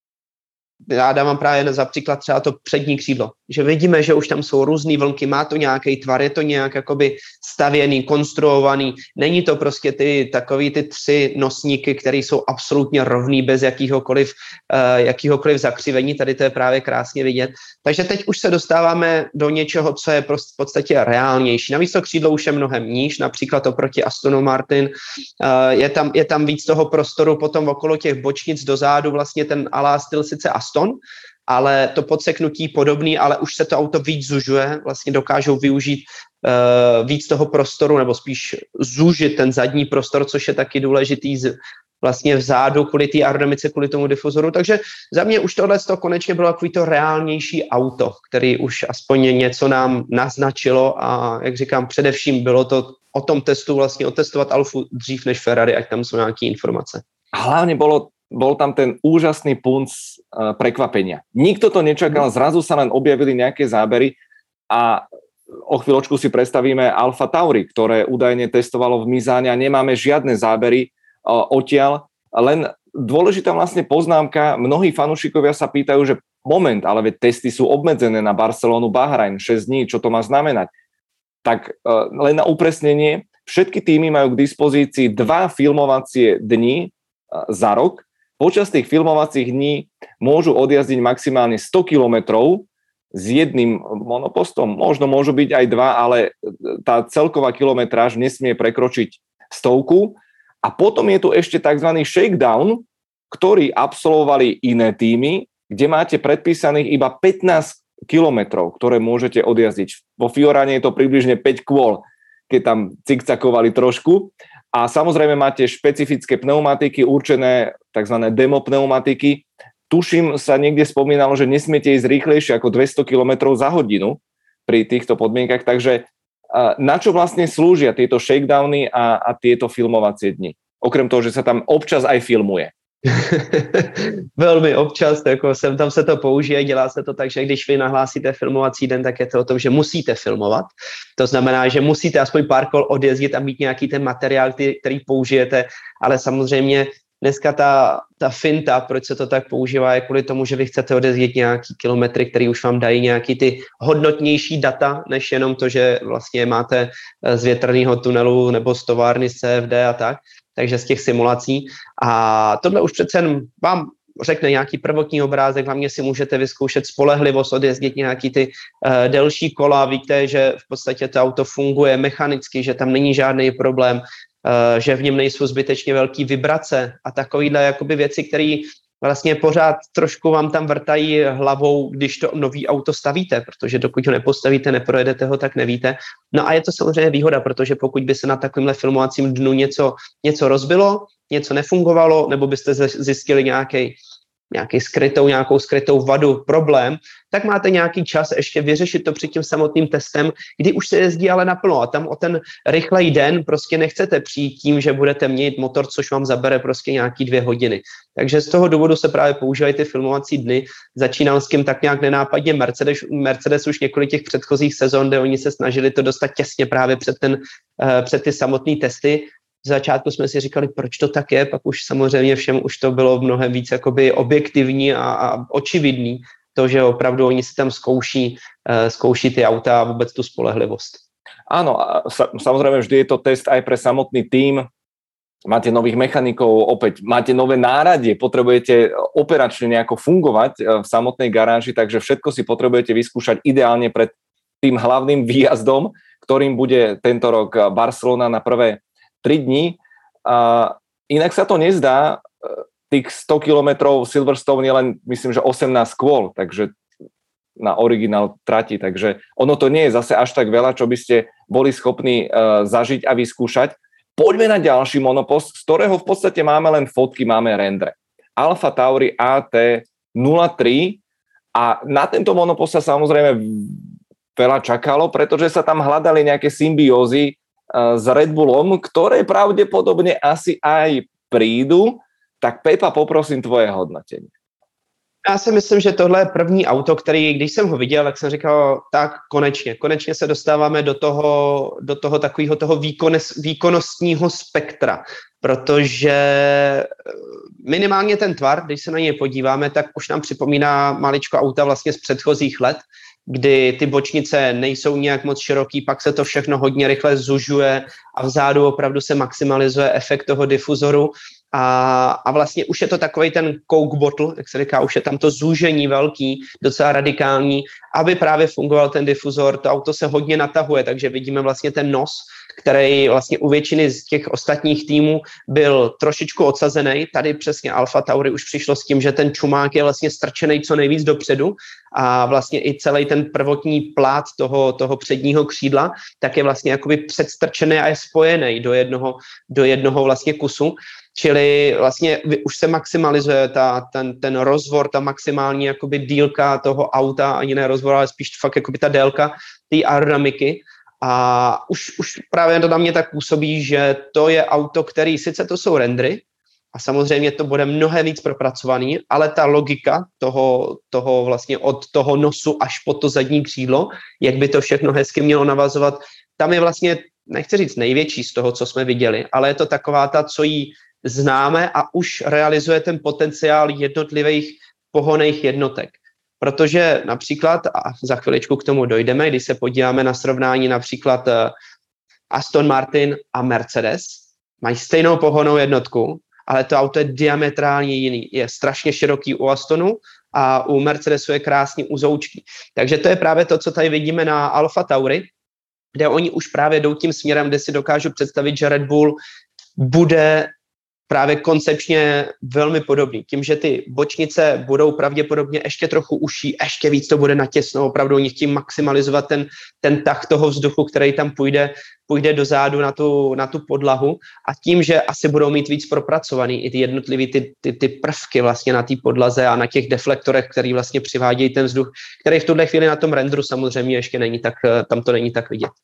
já dávám právě za příklad třeba to přední křídlo, že vidíme, že už tam jsou různý vlnky, má to nějaký tvar, je to nějak jakoby stavěný, konstruovaný, není to prostě takový ty 3 nosníky, které jsou absolutně rovný bez jakýhokoliv zakřivení, tady to je právě krásně vidět. Takže teď už se dostáváme do něčeho, co je v podstatě reálnější. Navíc to křídlo už je mnohem níž, například oproti Astonu Martin, je tam víc toho prostoru potom okolo těch bočnic dozadu, vlastně ten alá styl sice Aston, ale to podseknutí podobný, ale už se to auto víc zužuje, vlastně dokážou využít víc toho prostoru, nebo spíš zúžit ten zadní prostor, což je taky důležitý vlastně vzadu kvůli té aerodynamice, kvůli tomu difuzoru. Takže za mě už tohle konečně bylo takový to reálnější auto, který už aspoň něco nám naznačilo a jak říkám, především bylo to o tom testu vlastně otestovat Alfu dřív než Ferrari, ať tam jsou nějaké informace. Hlavne bol tam ten úžasný punc prekvapenia. Nikto to nečakal, zrazu sa len objavili nejaké zábery a o chvíľočku si predstavíme Alfa Tauri, ktoré údajne testovalo v Mizáne a nemáme žiadne zábery odtiaľ. Len dôležitá vlastne poznámka, mnohí fanúšikovia sa pýtajú, že moment, ale veď testy sú obmedzené na Barcelonu, Bahrajn, 6 dní, čo to má znamenať? Tak len na upresnenie, všetky týmy majú k dispozícii 2 filmovacie dni za rok. Počas tých filmovacích dní môžu odjazdiť maximálne 100 kilometrov s jedným monopostom. Možno môžu byť aj 2, ale tá celková kilometráž nesmie prekročiť 100. A potom je tu ešte tzv. Shakedown, ktorý absolvovali iné týmy, kde máte predpísaných iba 15 kilometrov, ktoré môžete odjazdiť. Vo Fiorane je to približne 5 kôl, keď tam cikcakovali trošku. A samozrejme máte špecifické pneumatiky, určené tzv. Demo pneumatiky. Tuším, sa niekde spomínalo, že nesmiete ísť rýchlejšie ako 200 km za hodinu pri týchto podmienkach, takže Na čo vlastne slúžia tieto shakedowny a tieto filmovacie dni? Okrem toho, že sa tam občas aj filmuje. Velmi občas, jako tam se to použije, dělá se to tak, že když vy nahlásíte filmovací den, tak je to o tom, že musíte filmovat. To znamená, že musíte aspoň pár kol odjezdit a mít nějaký ten materiál, který použijete, ale samozřejmě dneska ta finta, proč se to tak používá, je kvůli tomu, že vy chcete odjezdit nějaký kilometry, který už vám dají nějaký ty hodnotnější data, než jenom to, že vlastně máte z větrného tunelu nebo z továrny z CFD a tak. Takže z těch simulací. A tohle už přece vám řekne nějaký prvotní obrázek, hlavně si můžete vyzkoušet spolehlivost, odjezdit nějaký ty delší kola, víte, že v podstatě to auto funguje mechanicky, že tam není žádný problém, že v něm nejsou zbytečně velký vibrace a takovýhle jakoby věci, které vlastně pořád trošku vám tam vrtají hlavou, když to nový auto stavíte, protože dokud ho nepostavíte, neprojedete ho, tak nevíte. No a je to samozřejmě výhoda, protože pokud by se na takovémhle filmovacím dnu něco rozbilo, něco nefungovalo, nebo byste zjistili nějakou skrytou vadu, problém, tak máte nějaký čas ještě vyřešit to před tím samotným testem, kdy už se jezdí ale naplno a tam o ten rychlej den prostě nechcete přijít tím, že budete měnit motor, což vám zabere prostě nějaký 2 hodiny. Takže z toho důvodu se právě používají ty filmovací dny. Začínal s tím tak nějak nenápadně Mercedes už několik těch předchozích sezon, kde oni se snažili to dostat těsně právě před ty samotné testy. V začátku jsme si říkali, proč to tak je, pak už samozřejmě všem už to bylo mnohem víc jakoby objektivní a očividný, to, že opravdu oni si tam zkouší ty auta a vůbec tu spolehlivost. Áno, samozrejme vždy je to test aj pre samotný tím. Máte nových mechanikov, opäť máte nové náradie, potrebujete operačne nejako fungovať v samotnej garáži, takže všetko si potrebujete vyskúšať ideálne pred tým hlavným výjazdom, ktorým bude tento rok Barcelona na prvé 3 dní. Inak sa to nezdá, tých 100 kilometrov Silverstone je len, myslím, že 18 kôl, takže na originál trati, takže ono to nie je zase až tak veľa, čo by ste boli schopní zažiť a vyskúšať. Poďme na ďalší monopost, z ktorého v podstate máme len fotky, máme rendre. Alfa Tauri AT03 a na tento monopost sa samozrejme veľa čakalo, pretože sa tam hľadali nejaké symbiózy s Red Bullom, ktoré pravdepodobne asi aj prídu. Tak Pepa, poprosím tvoje hodnotení. Já si myslím, že tohle je první auto, který, když jsem ho viděl, tak jsem říkal, tak konečně se dostáváme do toho takového toho výkonnostního spektra, protože minimálně ten tvar, když se na něj podíváme, tak už nám připomíná maličko auta vlastně z předchozích let, kdy ty bočnice nejsou nějak moc široký, pak se to všechno hodně rychle zužuje a vzadu opravdu se maximalizuje efekt toho difuzoru a vlastně už je to takovej ten Coke bottle, jak se říká, už je tam to zúžení velký, docela radikální, aby právě fungoval ten difuzor, to auto se hodně natahuje, takže vidíme vlastně ten nos, který vlastně u většiny z těch ostatních týmů byl trošičku odsazený. Tady přesně Alfa Tauri už přišlo s tím, že ten čumák je vlastně strčený co nejvíc dopředu a vlastně i celý ten prvotní plát toho předního křídla tak je vlastně jakoby předstrčený a je spojený do jednoho vlastně kusu. Čili vlastně už se maximalizuje ten rozvor, ta maximální jakoby dílka toho auta, ani ne rozvor, ale spíš fakt jakoby ta délka té aerodynamiky. A už právě to na mě tak působí, že to je auto, který sice to jsou rendry a samozřejmě to bude mnohem víc propracovaný, ale ta logika toho vlastně od toho nosu až po to zadní křídlo, jak by to všechno hezky mělo navazovat, tam je vlastně, nechci říct největší z toho, co jsme viděli, ale je to taková ta, co jí známe a už realizuje ten potenciál jednotlivých pohonných jednotek. Protože například, a za chviličku k tomu dojdeme, když se podíváme na srovnání například Aston Martin a Mercedes, mají stejnou pohonnou jednotku, ale to auto je diametrálně jiný. Je strašně široký u Astonu a u Mercedesu je krásný uzoučký. Takže to je právě to, co tady vidíme na Alfa Tauri, kde oni už právě jdou tím směrem, kde si dokážu představit, že Red Bull bude právě koncepčně velmi podobný. Tím, že ty bočnice budou pravděpodobně ještě trochu užší, ještě víc to bude natěsno, opravdu oni chtějí maximalizovat ten tah toho vzduchu, který tam půjde dozadu na tu podlahu a tím, že asi budou mít víc propracovaný i ty jednotlivý ty prvky vlastně na té podlaze a na těch deflektorech, který vlastně přivádějí ten vzduch, který v tuhle chvíli na tom renderu samozřejmě ještě není tak, tam to není tak vidět.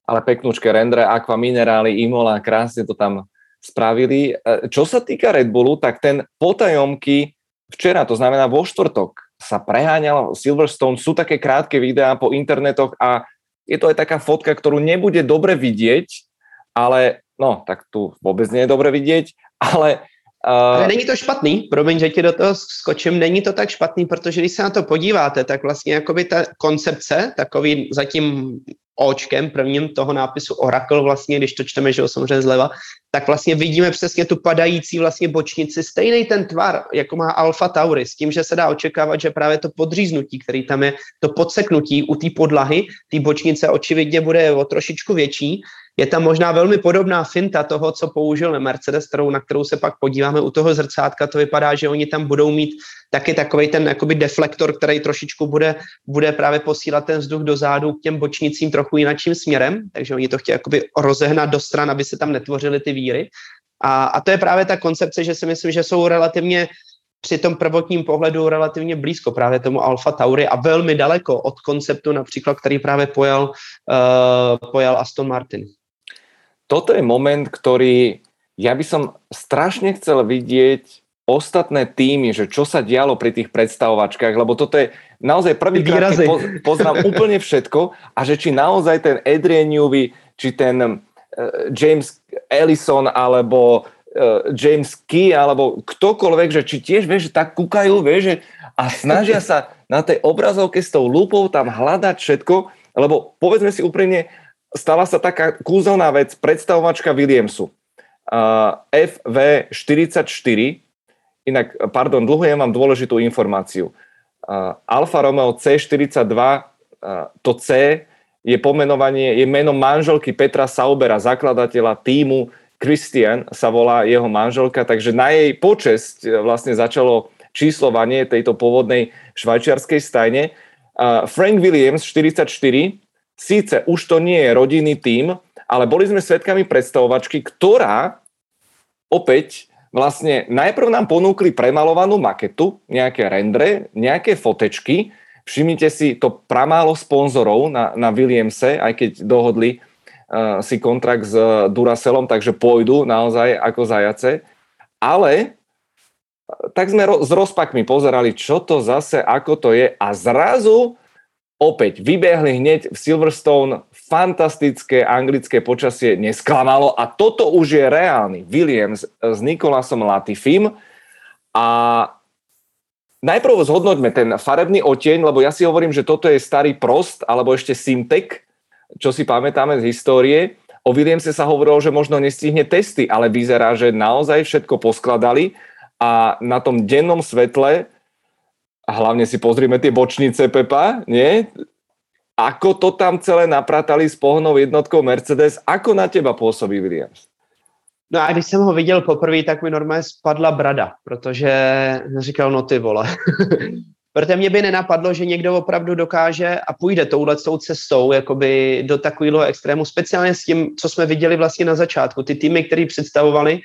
ale peknúčke rendre, aqua minerály, Imola, krásne to tam spravili. Čo sa týka Red Bullu, tak ten potajomky včera, to znamená vo štvrtok, sa preháňal Silverstone, sú také krátke videá po internetoch a je to aj taká fotka, ktorú nebude dobre vidieť, ale no, tak tu vôbec nie je dobre vidieť, ale ale není to špatný, promiň, že ti do toho skočím, není to tak špatný, protože když se na to podíváte, tak vlastně jakoby ta koncepce, takový zatím očkem prvním toho nápisu Oracle vlastně, když to čteme, že ho samozřejmě zleva, tak vlastně vidíme přesně tu padající vlastně bočnici, stejný ten tvar, jako má Alfa Tauri, s tím, že se dá očekávat, že právě to podříznutí, který tam je, to podseknutí u té podlahy, té bočnice očividně bude o trošičku větší. Je tam možná velmi podobná finta toho, co použil Mercedes, na kterou se pak podíváme u toho zrcátka. To vypadá, že oni tam budou mít taky takovej ten jakoby deflektor, který trošičku bude právě posílat ten vzduch dozadu k těm bočnicím trochu jinakým směrem, takže oni to chtějí jakoby rozehnat do stran, aby se tam netvořily ty víry. A to je právě ta koncepce, že si myslím, že jsou relativně při tom prvotním pohledu relativně blízko právě tomu Alfa Tauri a velmi daleko od konceptu například, který právě pojal Aston Martin. Toto je moment, ktorý ja by som strašne chcel vidieť ostatné týmy, že čo sa dialo pri tých predstavovačkách, lebo toto je naozaj prvýkrát, keď poznám úplne všetko a že či naozaj ten Adrian Newey, či ten James Ellison alebo James Key alebo ktokoľvek, že či tiež, vieš, že tak kúkajú, vieš, že a snažia sa na tej obrazovke s tou lupou tam hľadať všetko, lebo povedzme si úprimne, stala sa taká kúzelná vec, predstavovačka Williamsu. FV44, inak, pardon, dlhujem vám dôležitú informáciu. Alfa Romeo C42, to C je pomenovanie, je meno manželky Petra Saubera, zakladateľa týmu. Christian sa volá jeho manželka, takže na jej počesť vlastne začalo číslovanie tejto pôvodnej švajčiarskej stajne. Frank Williams 44, síce už to nie je rodinný tím, ale boli sme svedkami predstavovačky, ktorá opäť vlastne najprv nám ponúkli premalovanú maketu, nejaké rendre, nejaké fotečky. Všimnite si to pramálo sponzorov na Williamse, aj keď dohodli si kontrakt s Duracellom, takže pôjdu naozaj ako zajace. Ale tak sme s rozpakmi pozerali, čo to zase, ako to je a zrazu opäť vybehli hneď v Silverstone, fantastické anglické počasie nesklamalo a toto už je reálny Williams s Nicolasom Latifim a najprv zhodnoťme ten farebný odtieň, lebo ja si hovorím, že toto je starý Prost alebo ešte Simtek, čo si pamätáme z histórie. O Williamse sa hovorilo, že možno nestihne testy, ale vyzerá, že naozaj všetko poskladali a na tom dennom svetle a hlavne si pozrime tie bočnice, Pepa, nie? Ako to tam celé napratali s pohonnou jednotkou Mercedes, ako na teba pôsobí Williams? No a když jsem ho viděl poprvé, tak mi normálně spadla brada, protože říkal, no ty vole. Protože mě by nenapadlo, že někdo opravdu dokáže a půjde touhletou cestou jakoby do takového extrému, speciálně s tím, co jsme viděli vlastně na začátku. Ty týmy, které představovali,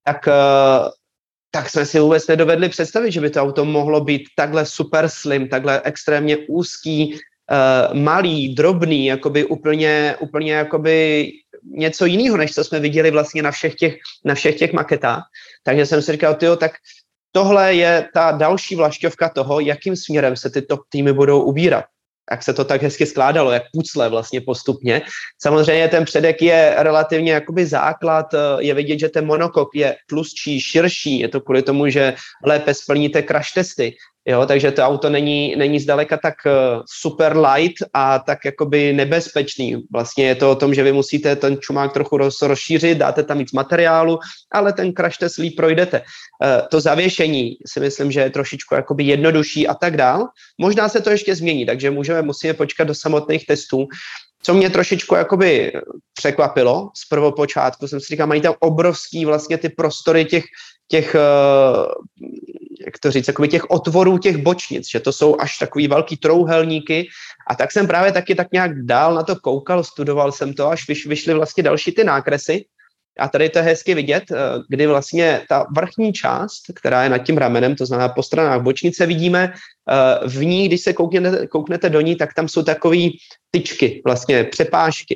tak jsme si vůbec nedovedli představit, že by to auto mohlo být takhle super slim, takhle extrémně úzký, malý, drobný, jakoby úplně jakoby něco jiného, než co jsme viděli vlastně na všech těch maketách. Takže jsem si říkal, tyjo, tak tohle je ta další vlašťovka toho, jakým směrem se ty top týmy budou ubírat. Jak se to tak hezky skládalo, jak pucle vlastně postupně. Samozřejmě ten předek je relativně jakoby základ, je vidět, že ten monokok je tlustší, širší, je to kvůli tomu, že lépe splníte crash testy. Jo, takže to auto není zdaleka tak super light a tak jakoby nebezpečný. Vlastně je to o tom, že vy musíte ten čumák trochu rozšířit, dáte tam víc materiálu, ale ten crash test líp projdete. To zavěšení si myslím, že je trošičku jakoby jednodušší a tak dál. Možná se to ještě změní, takže musíme počkat do samotných testů. Co mě trošičku jakoby překvapilo z prvopočátku, jsem si říkal, mají tam obrovský vlastně ty prostory těch jak to říct, jakoby těch otvorů těch bočnic, že to jsou až takový velký trouhelníky a tak jsem právě taky tak nějak dál na to koukal, studoval jsem to, až vyšly vlastně další ty nákresy a tady to je hezky vidět, kdy vlastně ta vrchní část, která je nad tím ramenem, to znamená po stranách bočnice vidíme, v ní, když se kouknete do ní, tak tam jsou takový tyčky, vlastně přepážky.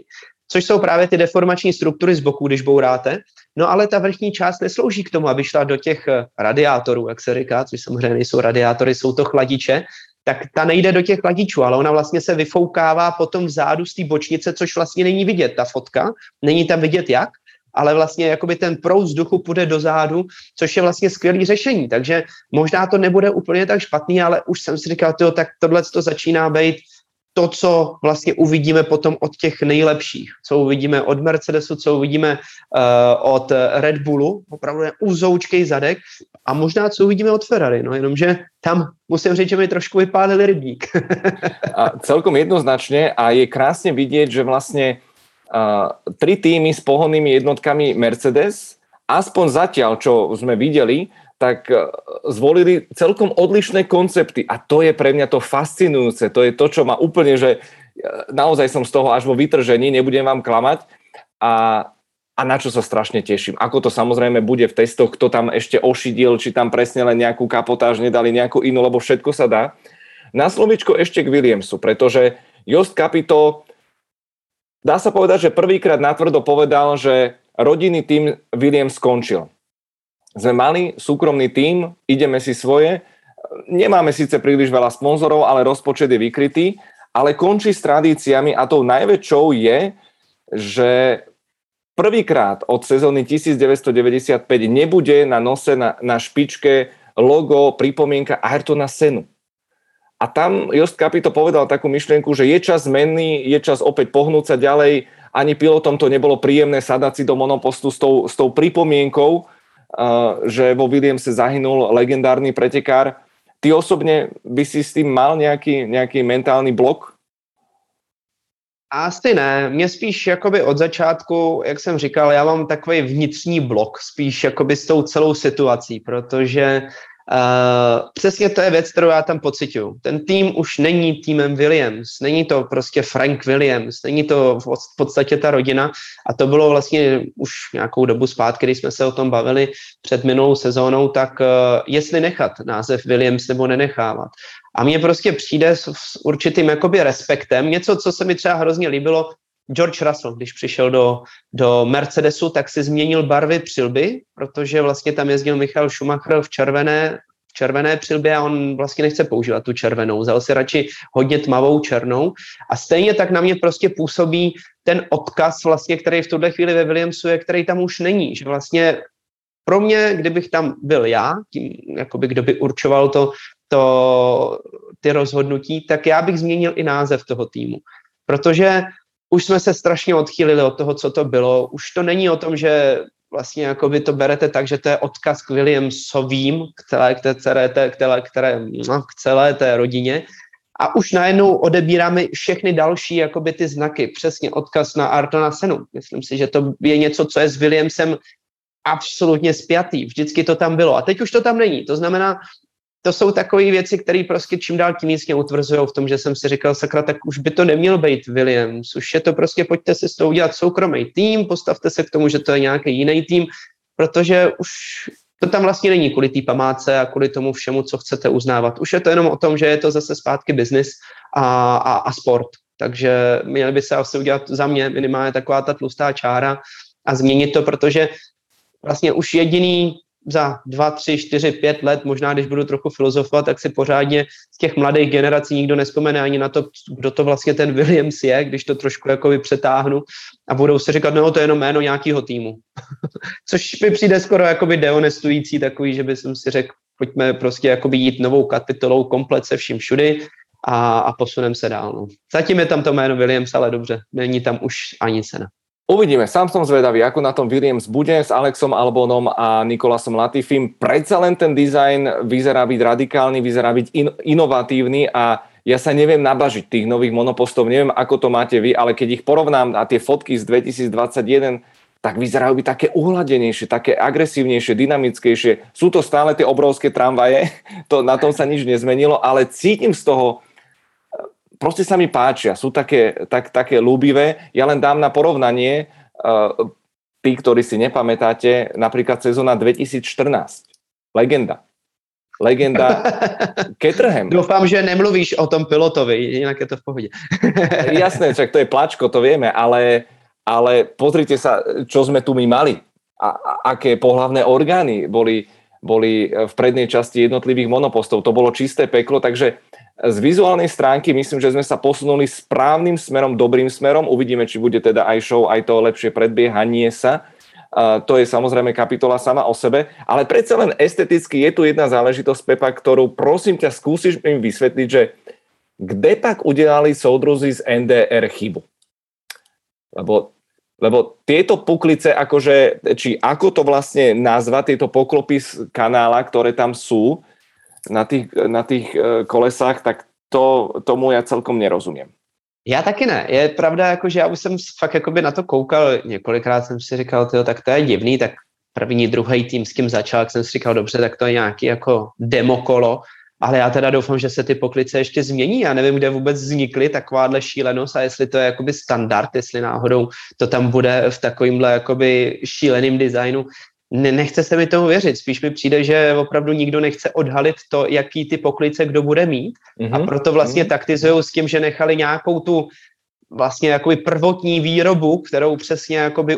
což jsou právě ty deformační struktury z boku, když bouráte. No ale ta vrchní část neslouží k tomu, aby šla do těch radiátorů, jak se říká, což samozřejmě nejsou radiátory, jsou to chladiče, tak ta nejde do těch chladičů, ale ona vlastně se vyfoukává potom vzadu z té bočnice, což vlastně není vidět, ta fotka, není tam vidět jak, ale vlastně jakoby ten proud vzduchu půjde dozadu, což je vlastně skvělé řešení. Takže možná to nebude úplně tak špatný, ale už jsem si říkal, tak tohle to začíná být to, co vlastně uvidíme potom od těch nejlepších. Co uvidíme od Mercedesu, co uvidíme od Red Bullu, opravdu je uzoučkej zadek, a možná co uvidíme od Ferrari, no jenomže tam musím říct, že mi trošku vypálili rybník. A celkom jednoznačne a je krásne vidieť, že vlastne tri týmy s pohonnými jednotkami Mercedes, aspoň zatiaľ, čo sme videli, tak zvolili celkom odlišné koncepty a to je pre mňa to fascinujúce, to je to, čo ma úplne, že naozaj som z toho až vo vytržení, nebudem vám klamať a na čo sa strašne teším. Ako to samozrejme bude v testoch, kto tam ešte ošidil, či tam presne len nejakú kapotáž nedali nejakú inú, lebo všetko sa dá. Na slovičko ešte k Williamsu, pretože Jost Capito, dá sa povedať, že prvýkrát natvrdo povedal, že rodinný tím Williams skončil. Sme mali súkromný tím, ideme si svoje, nemáme síce príliš veľa sponzorov, ale rozpočet je vykrytý, ale končí s tradíciami a tou najväčšou je, že prvýkrát od sezóny 1995 nebude na nose na špičke logo, pripomienka Ayrtona Senu. A tam Jost Capito povedal takú myšlienku, že je čas zmenný, je čas opäť pohnúť sa ďalej. Ani pilotom to nebolo príjemné sadať si do monopostu s tou pripomienkou, že vo Williamse zahynul legendárny pretekár. Ty osobne by si s tým mal nejaký mentálny blok? Asi ne, mě spíš jakoby od začátku, jak jsem říkal, já mám takový vnitřní blok spíš jakoby s tou celou situací, protože přesně to je věc, kterou já tam pociťuju. Ten tým už není týmem Williams, není to prostě Frank Williams, není to v podstatě ta rodina a to bylo vlastně už nějakou dobu zpátky, když jsme se o tom bavili před minulou sezónou, tak jestli nechat název Williams nebo nenechávat. A mně prostě přijde s určitým jakoby respektem, něco, co se mi třeba hrozně líbilo, George Russell, když přišel do Mercedesu, tak si změnil barvy přilby, protože vlastně tam jezdil Michael Schumacher v červené přilbě a on vlastně nechce používat tu červenou. Vzal si radši hodně tmavou černou a stejně tak na mě prostě působí ten odkaz vlastně, který v tuhle chvíli ve Williamsu je, který tam už není. Že vlastně pro mě, kdybych tam byl já, tím, jakoby kdo by určoval ty rozhodnutí, tak já bych změnil i název toho týmu. Protože už jsme se strašně odchýlili od toho, co to bylo. Už to není o tom, že vlastně jakoby to berete tak, že to je odkaz k Williamsovým, k celé té rodině. A už najednou odebíráme všechny další jakoby ty znaky. Přesně odkaz na Ayrtona Senu. Myslím si, že to je něco, co je s Williamsem absolutně spjatý. Vždycky to tam bylo. A teď už to tam není. To znamená, to jsou takové věci, které prostě čím dál tím víc mě utvrzují v tom, že jsem si říkal, sakra, tak už by to neměl být Williams, už je to prostě, pojďte si s tou udělat soukromý tým, postavte se k tomu, že to je nějaký jiný tým, protože už to tam vlastně není kvůli té památce a kvůli tomu všemu, co chcete uznávat. Už je to jenom o tom, že je to zase zpátky biznis a sport. Takže měli by se asi udělat za mě minimálně taková ta tlustá čára a změnit to, protože vlastně už jediný za 2, 3, 4, 5 let, možná když budu trochu filozofovat, tak si pořádně z těch mladých generací nikdo nespomene ani na to, kdo to vlastně ten Williams je, když to trošku jakoby přetáhnu a budou si říkat, no to je jenom jméno nějakého týmu. Což mi přijde skoro jakoby dehonestující takový, že by jsem si řekl, pojďme prostě jakoby jít novou kapitolou komplet se vším všudy a posuneme se dál. No. Zatím je tam to jméno Williams, ale dobře, není tam už ani cena. Uvidíme, sám som zvedavý, ako na tom Williams bude s Alexom Albonom a Nikolasom Latifim. Predsa len ten dizajn vyzerá byť radikálny, vyzerá byť inovatívny a ja sa neviem nabažiť tých nových monopostov, neviem, ako to máte vy, ale keď ich porovnám a tie fotky z 2021, tak vyzerajú byť také uhladenejšie, také agresívnejšie, dynamickejšie. Sú to stále tie obrovské tramvaje, na tom sa nič nezmenilo, ale cítim z toho, proste sa mi páčia, sú také ľúbivé. Ja len dám na porovnanie, tí, ktorí si nepamätáte, napríklad sezóna 2014. Legenda Caterham. Doufám, že nemluvíš o tom pilotovi, jinak je to v pohodě. Jasné, však to je plačko, to vieme, ale ale pozrite sa, čo sme tu my mali. A aké pohlavné orgány boli v prednej časti jednotlivých monopostov. To bolo čisté peklo, takže z vizuálnej stránky myslím, že sme sa posunuli správnym smerom, dobrým smerom. Uvidíme, či bude teda aj show, aj to lepšie predbiehanie sa. To je samozrejme kapitola sama o sebe, ale predsa len esteticky je tu jedna záležitosť, Pepa, ktorú prosím ťa skúsiš im vysvetliť, že kde pak udelali soudruzi z NDR chybu? Lebo tieto puklice, akože, či ako to vlastne nazvať, tieto poklopy z kanála, ktoré tam sú na tých kolesách, tak tomu ja celkom nerozumiem. Já taky ne. Je pravda, jako, že já už jsem fakt jakoby na to koukal, několikrát jsem si říkal, tyjo, tak to je divný, tak první, druhý tým, s kým začal, jsem si říkal, dobře, tak to je nějaký jako demokolo, ale já teda doufám, že se ty poklice ještě změní. Já nevím, kde vůbec vznikly takováhle šílenost a jestli to je jakoby standard, jestli náhodou to tam bude v takovýmhle jakoby šíleným designu. Nechce se mi tomu věřit. Spíš mi přijde, že opravdu nikdo nechce odhalit to, jaký ty poklice kdo bude mít. A proto vlastně taktizujou s tím, že nechali nějakou tu vlastně jakoby prvotní výrobu, kterou přesně jakoby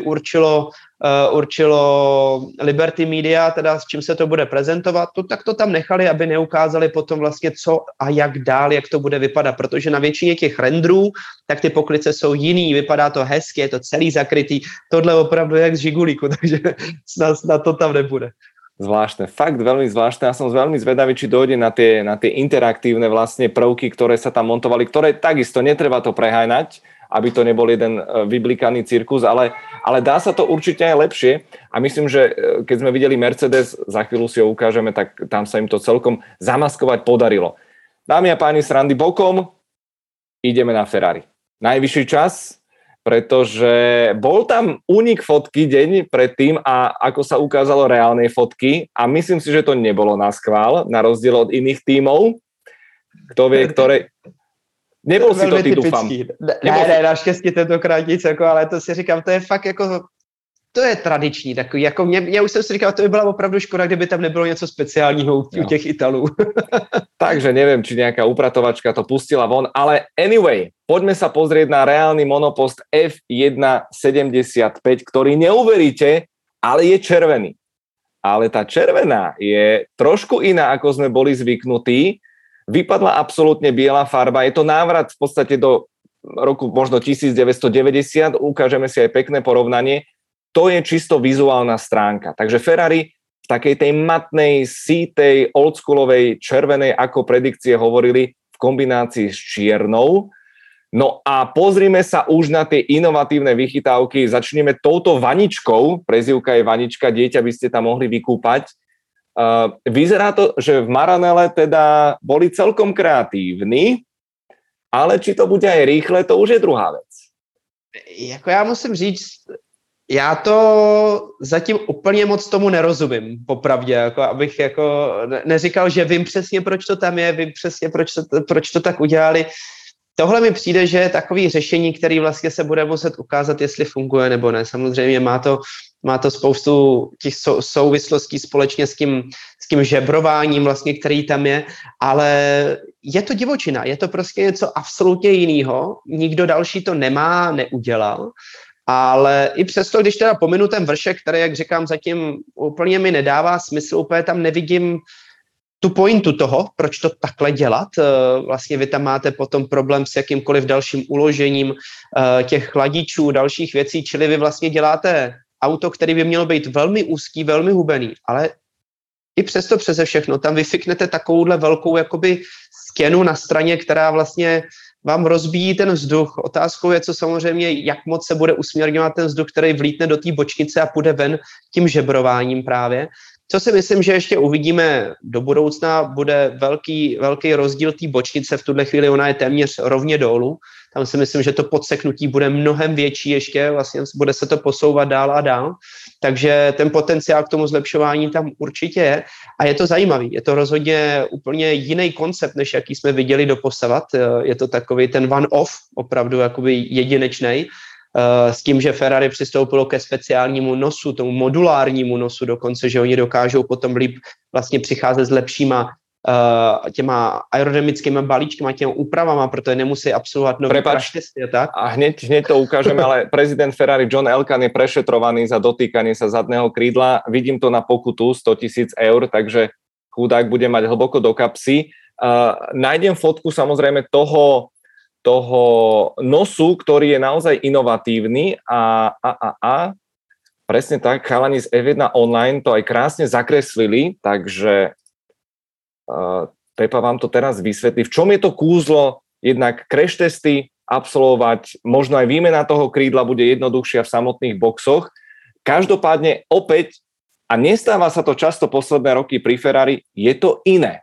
určilo Liberty Media, teda s čím se to bude prezentovat, tak to tam nechali, aby neukázali potom vlastně co a jak dál, jak to bude vypadat, protože na většině těch renderů, tak ty poklice jsou jiný, vypadá to hezky, je to celý zakrytý, tohle opravdu je jak z žigulíku, takže snad to tam nebude. Zvláštne, fakt veľmi zvláštne. Ja som veľmi zvedavý, či dojde na tie interaktívne vlastne prvky, ktoré sa tam montovali, ktoré takisto netreba to preháňať, aby to nebol jeden vyblikaný cirkus, ale dá sa to určite aj lepšie a myslím, že keď sme videli Mercedes, za chvíľu si ho ukážeme, tak tam sa im to celkom zamaskovať podarilo. Dámy a páni, srandy bokom, ideme na Ferrari. Najvyšší čas, pretože bol tam únik fotky deň predtým a ako sa ukázalo reálnej fotky a myslím si, že to nebolo na schvál, na rozdiel od iných tímov. Kto vie, ktoré... Nebol si to ty, dúfam. Ne, naštěstí tentokrát nic, jako, ale to si říkám, to je fakt jako... To je tradiční, takový, jako já už jsem si říkal, to by byla opravdu škoda, kdyby tam nebylo něco speciálního u těch Italů. Takže neviem, či nejaká upratovačka to pustila von, ale anyway, poďme sa pozrieť na reálny monopost F1.75, ktorý neuveríte, ale je červený. Ale tá červená je trošku iná, ako sme boli zvyknutí. Vypadla absolútne biela farba, je to návrat v podstate do roku možno 1990, ukážeme si aj pekné porovnanie. To je čisto vizuálna stránka. Takže Ferrari v takej tej matnej, sítej, oldschoolovej, červenej, ako predikcie hovorili, v kombinácii s čiernou. No a pozrime sa už na tie inovatívne vychytávky. Začneme touto vaničkou, prezývka je vanička, dieťa by ste tam mohli vykúpať. Vyzerá to, že v Maranelle teda boli celkom kreatívni, ale či to bude aj rýchle, to už je druhá vec. Jako já musím říct, já to zatím úplně moc tomu nerozumím, popravdě, jako abych jako neříkal, že vím přesně, proč to tam je, vím přesně, proč to tak udělali. Tohle mi přijde, že je takový řešení, který vlastně se bude muset ukázat, jestli funguje nebo ne. Samozřejmě má to spoustu těch souvislostí společně s tím žebrováním, vlastně, který tam je, ale je to divočina, je to prostě něco absolutně jiného. Nikdo další to neudělal. Ale i přesto, když teda pominu ten vršek, který, jak říkám, zatím úplně mi nedává smysl, úplně tam nevidím tu pointu toho, proč to takhle dělat. Vlastně vy tam máte potom problém s jakýmkoliv dalším uložením těch chladičů, dalších věcí, čili vy vlastně děláte auto, který by mělo být velmi úzký, velmi hubený, ale i přesto přeze všechno tam vyfiknete takovouhle velkou jakoby stěnu na straně, která vlastně vám rozbíjí ten vzduch. Otázkou je, co samozřejmě, jak moc se bude usměrňovat ten vzduch, který vlítne do té bočnice a půjde ven tím žebrováním právě. Co si myslím, že ještě uvidíme do budoucna, bude velký rozdíl té bočnice. V tuhle chvíli ona je téměř rovně dolů. Tam si myslím, že to podseknutí bude mnohem větší ještě, vlastně bude se to posouvat dál a dál. Takže ten potenciál k tomu zlepšování tam určitě je. A je to zajímavý. Je to rozhodně úplně jiný koncept, než jaký jsme viděli doposavat. Je to takový ten one-off, opravdu jakoby jedinečnej. S tím, že Ferrari přistoupilo ke speciálnímu nosu, tomu modulárnímu nosu dokonce, že oni dokážou potom líp vlastně přicházet s lepšíma těma aerodynamickými balíčkama, těma úpravama, protože nemusí absolvovat nový crash testy a tak. A hneď to ukážeme, ale prezident Ferrari John Elkann je prešetrovaný za dotýkanie sa zadného krídla. Vidím to na pokutu 100 000 eur, takže chudák bude mať hlboko do kapsy. Nájdem fotku samozrejme toho nosu, ktorý je naozaj inovatívny a presne tak, chalani z F1 Online to aj krásne zakreslili, takže Pepa vám to teraz vysvetlí. V čom je to kúzlo jednak crash testy absolvovať, možno aj výmena toho krídla bude jednoduchšia v samotných boxoch. Každopádne opäť, a nestáva sa to často posledné roky pri Ferrari, je to iné.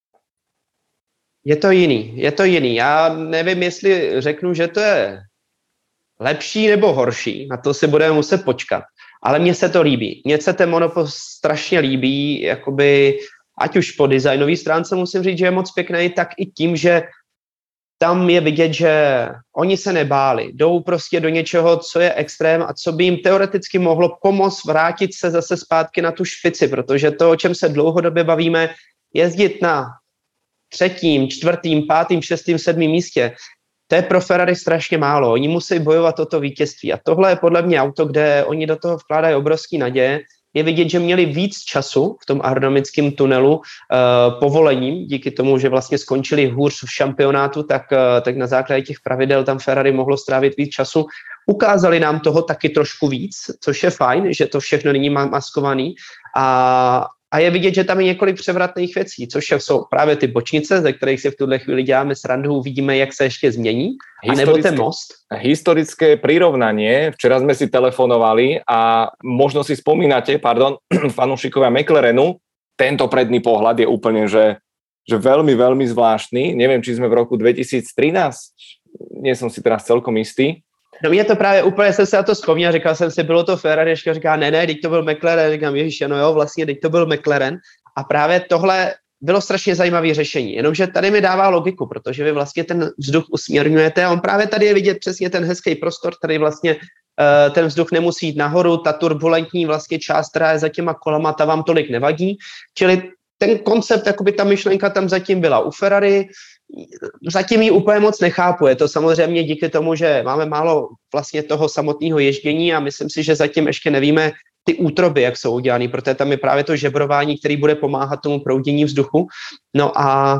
Je to jiný. Já nevím, jestli řeknu, že to je lepší nebo horší, na to si budeme muset počkat. Ale mně se to líbí. Mně se ten monopost strašně líbí, jakoby, ať už po designové stránce musím říct, že je moc pěkný, tak i tím, že tam je vidět, že oni se nebáli. Jdou prostě do něčeho, co je extrém a co by jim teoreticky mohlo pomoct vrátit se zase zpátky na tu špici, protože to, o čem se dlouhodobě bavíme, jezdit na 3., 4., 5., 6., 7. místě, to je pro Ferrari strašně málo. Oni musí bojovat o to vítězství. A tohle je podle mě auto, kde oni do toho vkládají obrovský naděje. Je vidět, že měli víc času v tom aerodynamickém tunelu povolením, díky tomu, že vlastně skončili hůř v šampionátu, tak na základě těch pravidel tam Ferrari mohlo strávit víc času. Ukázali nám toho taky trošku víc, což je fajn, že to všechno není maskovaný. A je vidět, že tam je několik převratných věcí, což jsou právě ty bočnice, ze kterých si v tuhle chvíli děláme srandu, uvidíme, jak se ještě změní, anebo ten most. Historické prirovnanie, včera sme si telefonovali a možno si spomínate, fanúšikovia McLarenu, tento predný pohľad je úplne, že veľmi, veľmi zvláštny. Neviem, či sme v roku 2013, nie som si teraz celkom istý. No mě to právě úplně, jsem se na to vzpomněl, říkal jsem si, bylo to Ferrari, ještě říká, ne, teď to byl McLaren, říkám, ježiš, no jo, vlastně, teď to byl McLaren a právě tohle bylo strašně zajímavé řešení, jenomže tady mi dává logiku, protože vy vlastně ten vzduch usměrňujete a on právě tady je vidět přesně ten hezký prostor, tady vlastně ten vzduch nemusí jít nahoru, ta turbulentní vlastně část, která je za těma kolama, ta vám tolik nevadí, čili ten koncept, jakoby ta myšlenka tam zatím byla u Ferrari, zatím ji úplně moc nechápu. Je to samozřejmě díky tomu, že máme málo vlastně toho samotného ježdění a myslím si, že zatím ještě nevíme ty útroby, jak jsou udělané, protože tam je právě to žebrování, který bude pomáhat tomu proudění vzduchu. No a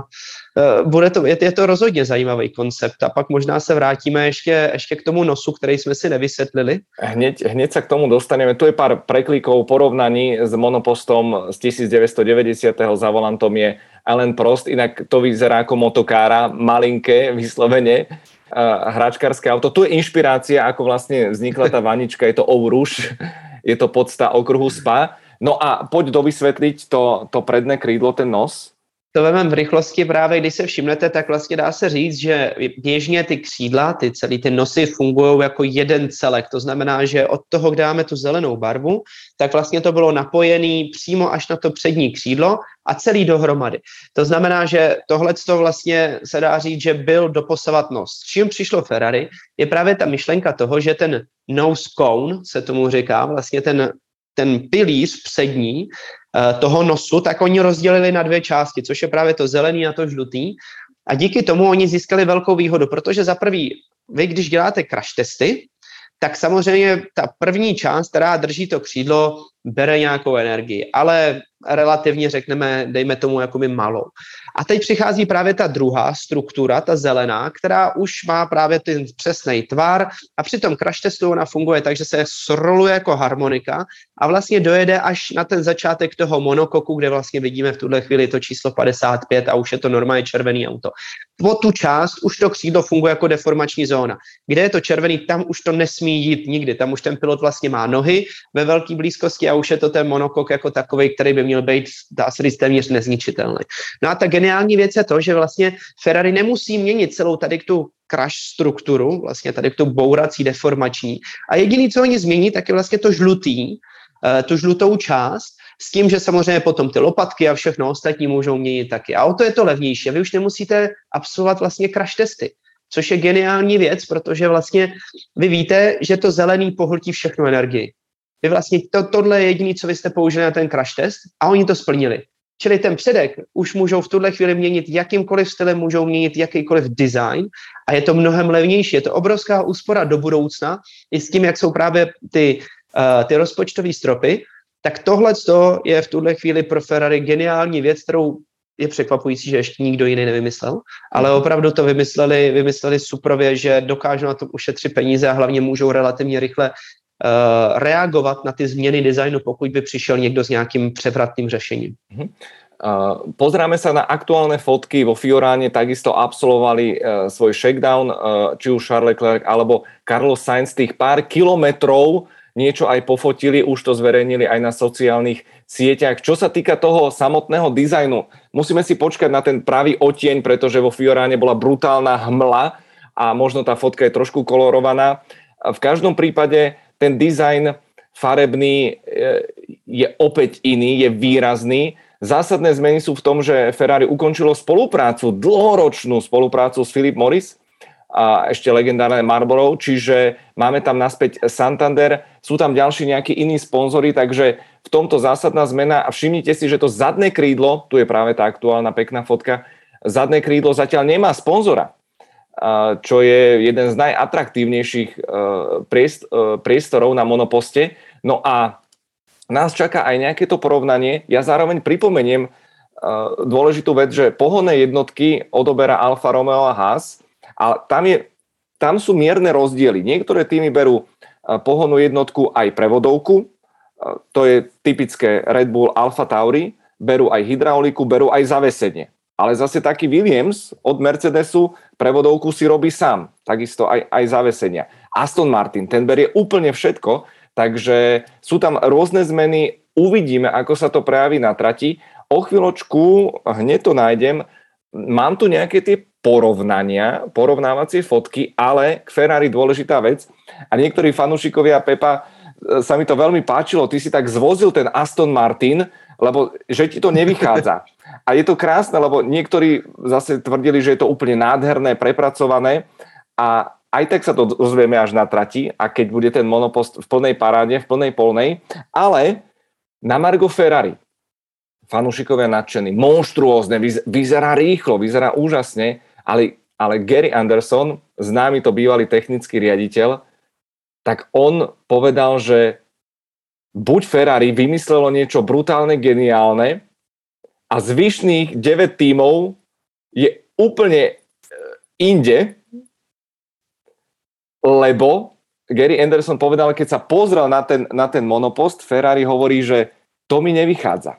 je to rozhodně zajímavý koncept a pak možná se vrátíme ještě k tomu nosu, který jsme si nevysvětlili. Hneď sa k tomu dostaneme. Tu je pár preklikov, porovnaní s monopostom z 1990. Za volantom je Alain Prost, inak to vyzerá ako motokára, malinké, vyslovene, hračkárske auto. Tu je inšpirácia, ako vlastne vznikla tá vanička, je to Eau Rouge, je to podsta okruhu Spa. No a poď dovysvetliť to predné krídlo, ten nos. To vememe v rychlosti právě, když se všimnete, tak vlastně dá se říct, že běžně ty křídla, ty nosy fungují jako jeden celek. To znamená, že od toho, kde máme tu zelenou barvu, tak vlastně to bylo napojené přímo až na to přední křídlo a celý dohromady. To znamená, že tohleto vlastně se dá říct, že byl doposavat nos. Čím přišlo Ferrari, je právě ta myšlenka toho, že ten nose cone, se tomu říká, vlastně ten pilíř přední toho nosu, tak oni rozdělili na 2 části, což je právě to zelený a to žlutý. A díky tomu oni získali velkou výhodu, protože za prvý, vy když děláte crash testy, tak samozřejmě ta první část, která drží to křídlo, bere nějakou energii, ale relativně řekneme, dejme tomu jakoby malou. A teď přichází právě ta druhá struktura, ta zelená, která už má právě ten přesný tvar a při tom crash testu ona funguje tak, že se sroluje jako harmonika a vlastně dojede až na ten začátek toho monokoku, kde vlastně vidíme v tuhle chvíli to číslo 55 a už je to normálně červený auto. Po tu část už to křídlo funguje jako deformační zóna. Kde je to červený, tam už to nesmí jít nikdy, tam už ten pilot vlastně má nohy ve velké blízkosti a už je to ten monokok jako takový, který by měl být, dá se říct, téměř nezničitelný. No a ta geniální věc je to, že vlastně Ferrari nemusí měnit celou tady tu crash strukturu, vlastně tady tu bourací deformační. A jediný, co oni změní, tak je vlastně to žlutý, tu žlutou část, s tím, že samozřejmě potom ty lopatky a všechno ostatní můžou měnit taky. A o to je to levnější. Vy už nemusíte absolvovat vlastně crash testy, což je geniální věc, protože vlastně vy víte, že to zelený pohltí všechnu energii. Vy vlastně tohle je jediné, co vy jste použili na ten crash test a oni to splnili. Čili ten předek už můžou v tuhle chvíli měnit jakýmkoliv stylem, můžou měnit jakýkoliv design a je to mnohem levnější. Je to obrovská úspora do budoucna i s tím, jak jsou právě ty rozpočtové stropy, tak tohle je v tuhle chvíli pro Ferrari geniální věc, kterou je překvapující, že ještě nikdo jiný nevymyslel, ale opravdu to vymysleli suprově, že dokážou na tom ušetřit peníze a hlavně můžou relativně rychle reagovat na ty změny designu, pokud by přišel někdo s nějakým převratným řešením. Pozráme sa na aktuálne fotky. Vo Fioráne takisto absolvovali svoj shakedown, či už Charles Leclerc alebo Carlos Sainz, tých pár kilometrov niečo aj pofotili, už to zverejnili aj na sociálnych sieťach. Čo sa týka toho samotného dizajnu, musíme si počkať na ten pravý odtieň, pretože vo Fioráne bola brutálna hmla a možno tá fotka je trošku kolorovaná. V každom prípade ten dizajn farebný je opäť iný, je výrazný. Zásadné zmeny sú v tom, že Ferrari ukončilo dlhoročnú spoluprácu s Philip Morris a ešte legendárne Marlboro, čiže máme tam naspäť Santander, sú tam ďalší nejakí iní sponzori, takže v tomto zásadná zmena a všimnite si, že to zadné krídlo, tu je práve tá aktuálna pekná fotka, zadné krídlo zatiaľ nemá sponzora, čo je jeden z najatraktívnejších priestorov na monoposte. No a nás čaká aj nejaké to porovnanie. Ja zároveň pripomeniem dôležitú vec, že pohonné jednotky odoberá Alfa Romeo a Haas, a tam sú mierne rozdiely. Niektoré týmy berú pohonnú jednotku aj prevodovku, to je typické Red Bull, Alfa Tauri, berú aj hydrauliku, berú aj zavesenie. Ale zase taký Williams od Mercedesu prevodovku si robí sám, takisto aj zavesenia. Aston Martin, ten berie úplne všetko, takže sú tam rôzne zmeny, uvidíme, ako sa to prejaví na trati. O chvíľočku, hneď to nájdem, mám tu nejaké tie porovnávacie fotky, ale k Ferrari dôležitá vec a niektorí fanúšikovia, Pepa, sa mi to veľmi páčilo, ty si tak zvozil ten Aston Martin, lebo že ti to nevychádza. A je to krásne, lebo niektorí zase tvrdili, že je to úplne nádherné, prepracované a aj tak sa to dozvieme až na trati a keď bude ten monopost v plnej paráde, v plnej polnej, ale na margo Ferrari fanúšikovia nadšení, monštruózne, vyzerá rýchlo, vyzerá úžasne, ale Gary Anderson, známy to bývalý technický riaditeľ, tak on povedal, že buď Ferrari vymyslelo niečo brutálne geniálne a zvyšných 9 tímov je úplne inde, lebo Gary Anderson povedal, keď sa pozrel na ten monopost, Ferrari hovorí, že to mi nevychádza.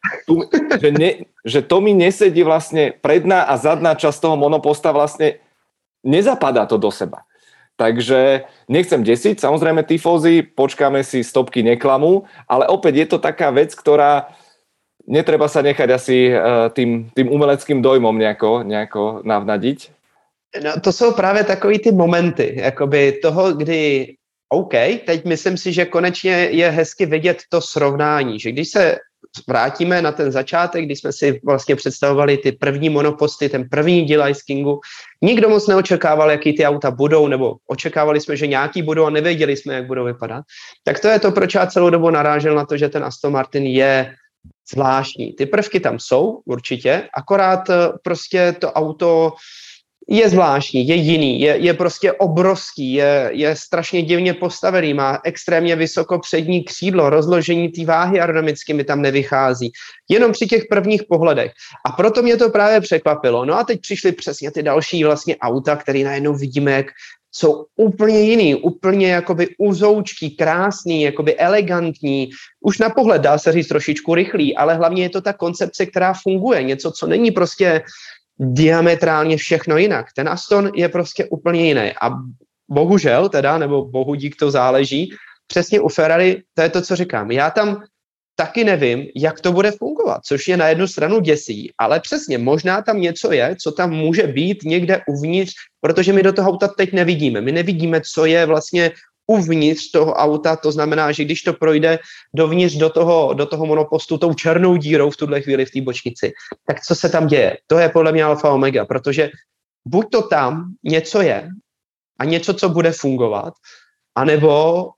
Že to mi nesedí vlastne predná a zadná časť toho monoposta, vlastne nezapadá to do seba. Takže nechcem desiť, samozrejme tifózy, počkáme si, stopky neklamú, ale opäť je to taká vec, ktorá netreba sa nechať asi tým umeleckým dojmom nejako navnadiť. No, to jsou právě takový ty momenty, jakoby toho, kdy OK, teď myslím si, že konečně je hezky vidět to srovnání, že když se vrátíme na ten začátek, kdy jsme si vlastně představovali ty první monoposty, ten první díl Ice Kingu, nikdo moc neočekával, jaký ty auta budou, nebo očekávali jsme, že nějaký budou a nevěděli jsme, jak budou vypadat. Tak to je to, proč já celou dobu narážel na to, že ten Aston Martin je zvláštní. Ty prvky tam jsou, určitě, akorát prostě to auto je zvláštní, je jiný, je prostě obrovský, je strašně divně postavený, má extrémně vysoko přední křídlo, rozložení té váhy aerodynamicky mi tam nevychází. Jenom při těch prvních pohledech. A proto mě to právě překvapilo. No a teď přišly přesně ty další vlastně auta, které najednou vidíme, jak jsou úplně jiný, úplně jakoby uzoučký, krásný, jakoby elegantní. Už na pohled dá se říct trošičku rychlý, ale hlavně je to ta koncepce, která funguje. Něco, co není prostě diametrálně všechno jinak. Ten Aston je prostě úplně jiný. A bohužel teda, nebo bohu dík to záleží, přesně u Ferrari, to je to, co říkám. Já tam taky nevím, jak to bude fungovat, což je na jednu stranu děsí, ale přesně, možná tam něco je, co tam může být někde uvnitř, protože my do toho auta teď nevidíme. My nevidíme, co je vlastně uvnitř toho auta, to znamená, že když to projde dovnitř do toho monopostu tou černou dírou v tuhle chvíli v té bočnici, tak co se tam děje? To je podle mě alfa omega, protože buď to tam něco je a něco, co bude fungovat, anebo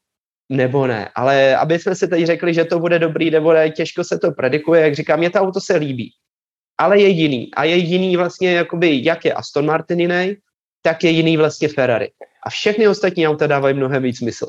nebo ne. Ale aby jsme si teď řekli, že to bude dobrý nebo ne, těžko se to predikuje, jak říkám, mě to auto se líbí. Ale je jiný. A je jiný vlastně, jakoby, jak je Aston Martin jiný, tak je jiný vlastně Ferrari. A všechny ostatní auta dávají mnohem víc smysl.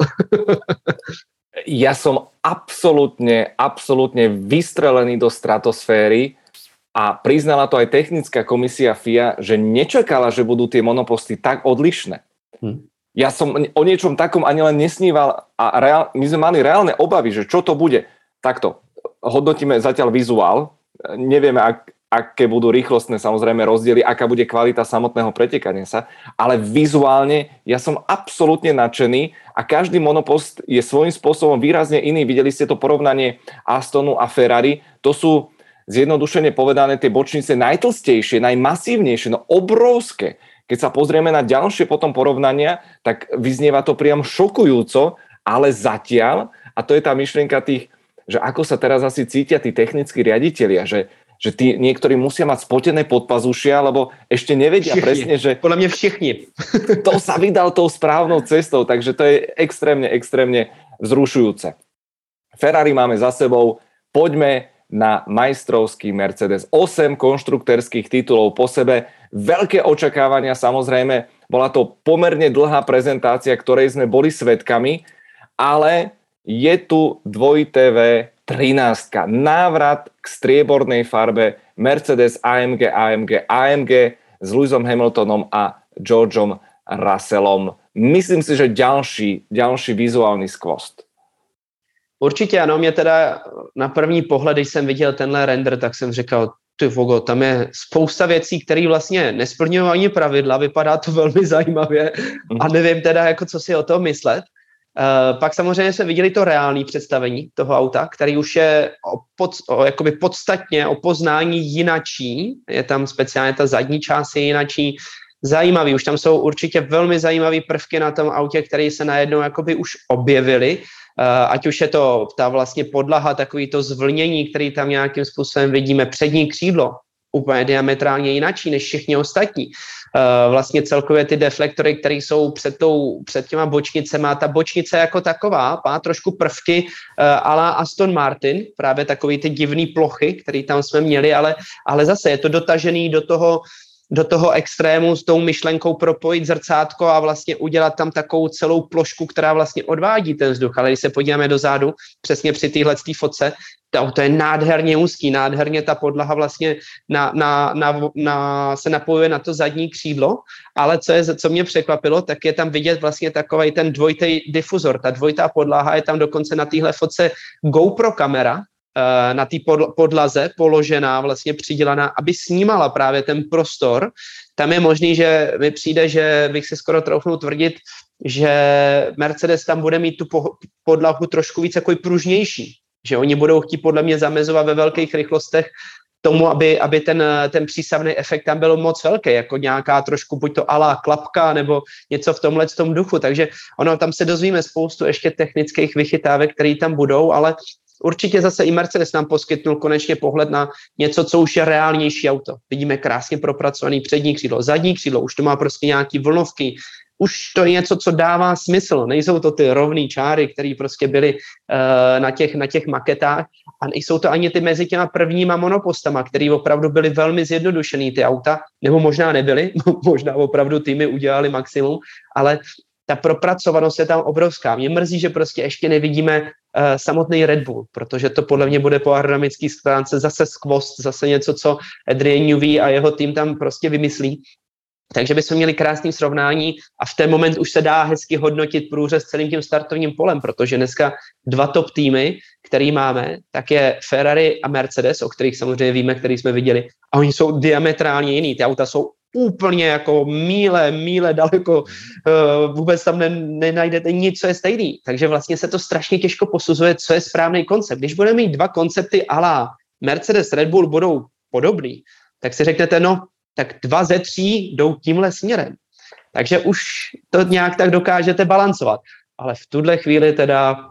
Ja som absolútne vystrelený do stratosféry a priznala to aj technická komisia FIA, že nečakala, že budú tie monoposty tak odlišné. Ja som o niečom takom ani len nesníval a my sme mali reálne obavy, že čo to bude. Takto, hodnotíme zatiaľ vizuál, nevieme, aké budú rýchlostné samozrejme rozdiely, aká bude kvalita samotného pretekania sa, ale vizuálne ja som absolútne nadšený a každý monopost je svojím spôsobom výrazne iný. Videli ste to porovnanie Astonu a Ferrari, to sú zjednodušene povedané tie bočnice najtlstejšie, najmasívnejšie, no obrovské. Keď sa pozrieme na ďalšie potom porovnania, tak vyznieva to priam šokujúco, ale zatiaľ, a to je tá myšlienka tých, že ako sa teraz asi cítia tí technickí riaditelia, že tí niektorí musia mať spotené podpazušia, lebo ešte nevedia všichni. Presne, že... Podľa mňa všichni. To sa vydal tou správnou cestou, takže to je extrémne vzrušujúce. Ferrari máme za sebou, poďme na majstrovský Mercedes. 8 konštruktérskych titulov po sebe, veľké očakávania samozrejme, bola to pomerne dlhá prezentácia, ktorej sme boli svedkami, ale je tu dvojité 13. Návrat k striebornej farbe Mercedes AMG s Lewisom Hamiltonom a Georgeom Russellom. Myslím si, že ďalší vizuální skvost. Určitě ano, mě teda na první pohled, když jsem viděl tenhle render, tak jsem říkal, ty vogo, tam je spousta věcí, které vlastně nesplňují ani pravidla, vypadá to velmi zajímavě a nevím teda, jako co si o tom myslet. Pak samozřejmě jsme viděli to reálné představení toho auta, který už je jakoby podstatně o poznání jinačí. Je tam speciálně ta zadní část je jinačí. Zajímavý, už tam jsou určitě velmi zajímavé prvky na tom autě, které se najednou jakoby už objevily. Ať už je to ta vlastně podlaha, takový to zvlnění, který tam nějakým způsobem vidíme, přední křídlo, úplně diametrálně jinačí než všichni ostatní. Vlastně celkově ty deflektory, které jsou před těma bočnicema, ta bočnice jako taková má trošku prvky a la Aston Martin, právě takový ty divný plochy, které tam jsme měli, ale zase je to dotažený do toho extrému s tou myšlenkou propojit zrcátko a vlastně udělat tam takovou celou plošku, která vlastně odvádí ten vzduch. Ale když se podíváme dozadu, přesně při téhletý fotce, to je nádherně úzký, nádherně ta podlaha vlastně se napojuje na to zadní křídlo, ale co mě překvapilo, tak je tam vidět vlastně takovej ten dvojitý difuzor, ta dvojitá podlaha je tam dokonce na téhle fotce GoPro kamera, na té podlaze položená, vlastně přidělaná, aby snímala právě ten prostor. Tam je možný, že mi přijde, že bych si skoro troufnul tvrdit, že Mercedes tam bude mít tu podlahu trošku víc jako pružnější. Že oni budou chtít podle mě zamezovat ve velkých rychlostech tomu, aby ten přísavný efekt tam byl moc velký, jako nějaká trošku buď to alá klapka nebo něco v tomhle tom duchu. Takže tam se dozvíme spoustu ještě technických vychytávek, které tam budou, ale určitě zase i Mercedes nám poskytnul konečně pohled na něco, co už je reálnější auto. Vidíme krásně propracovaný přední křídlo, zadní křídlo, už to má prostě nějaký vlnovky, už to je něco, co dává smysl. Nejsou to ty rovné čáry, které prostě byly na těch maketách a nejsou to ani ty mezi těma prvníma monopostama, které opravdu byly velmi zjednodušený ty auta, nebo možná nebyly, možná opravdu týmy udělali maximum, ale ta propracovanost je tam obrovská. Mě mrzí, že prostě ještě nevidíme samotný Red Bull, protože to podle mě bude po aerodynamické stránce zase skvost, zase něco, co Adrian Newey a jeho tým tam prostě vymyslí. Takže bychom měli krásný srovnání a v ten moment už se dá hezky hodnotit průřez celým tím startovním polem, protože dneska dva top týmy, který máme, tak je Ferrari a Mercedes, o kterých samozřejmě víme, který jsme viděli, a oni jsou diametrálně jiný. Ty auta jsou úplně jako míle daleko, vůbec tam nenajdete nic, co je stejný. Takže vlastně se to strašně těžko posuzuje, co je správný koncept. Když budeme mít dva koncepty ala Mercedes, Red Bull budou podobný, tak si řeknete, tak 2 ze 3 jdou tímhle směrem. Takže už to nějak tak dokážete balancovat. Ale v tuhle chvíli teda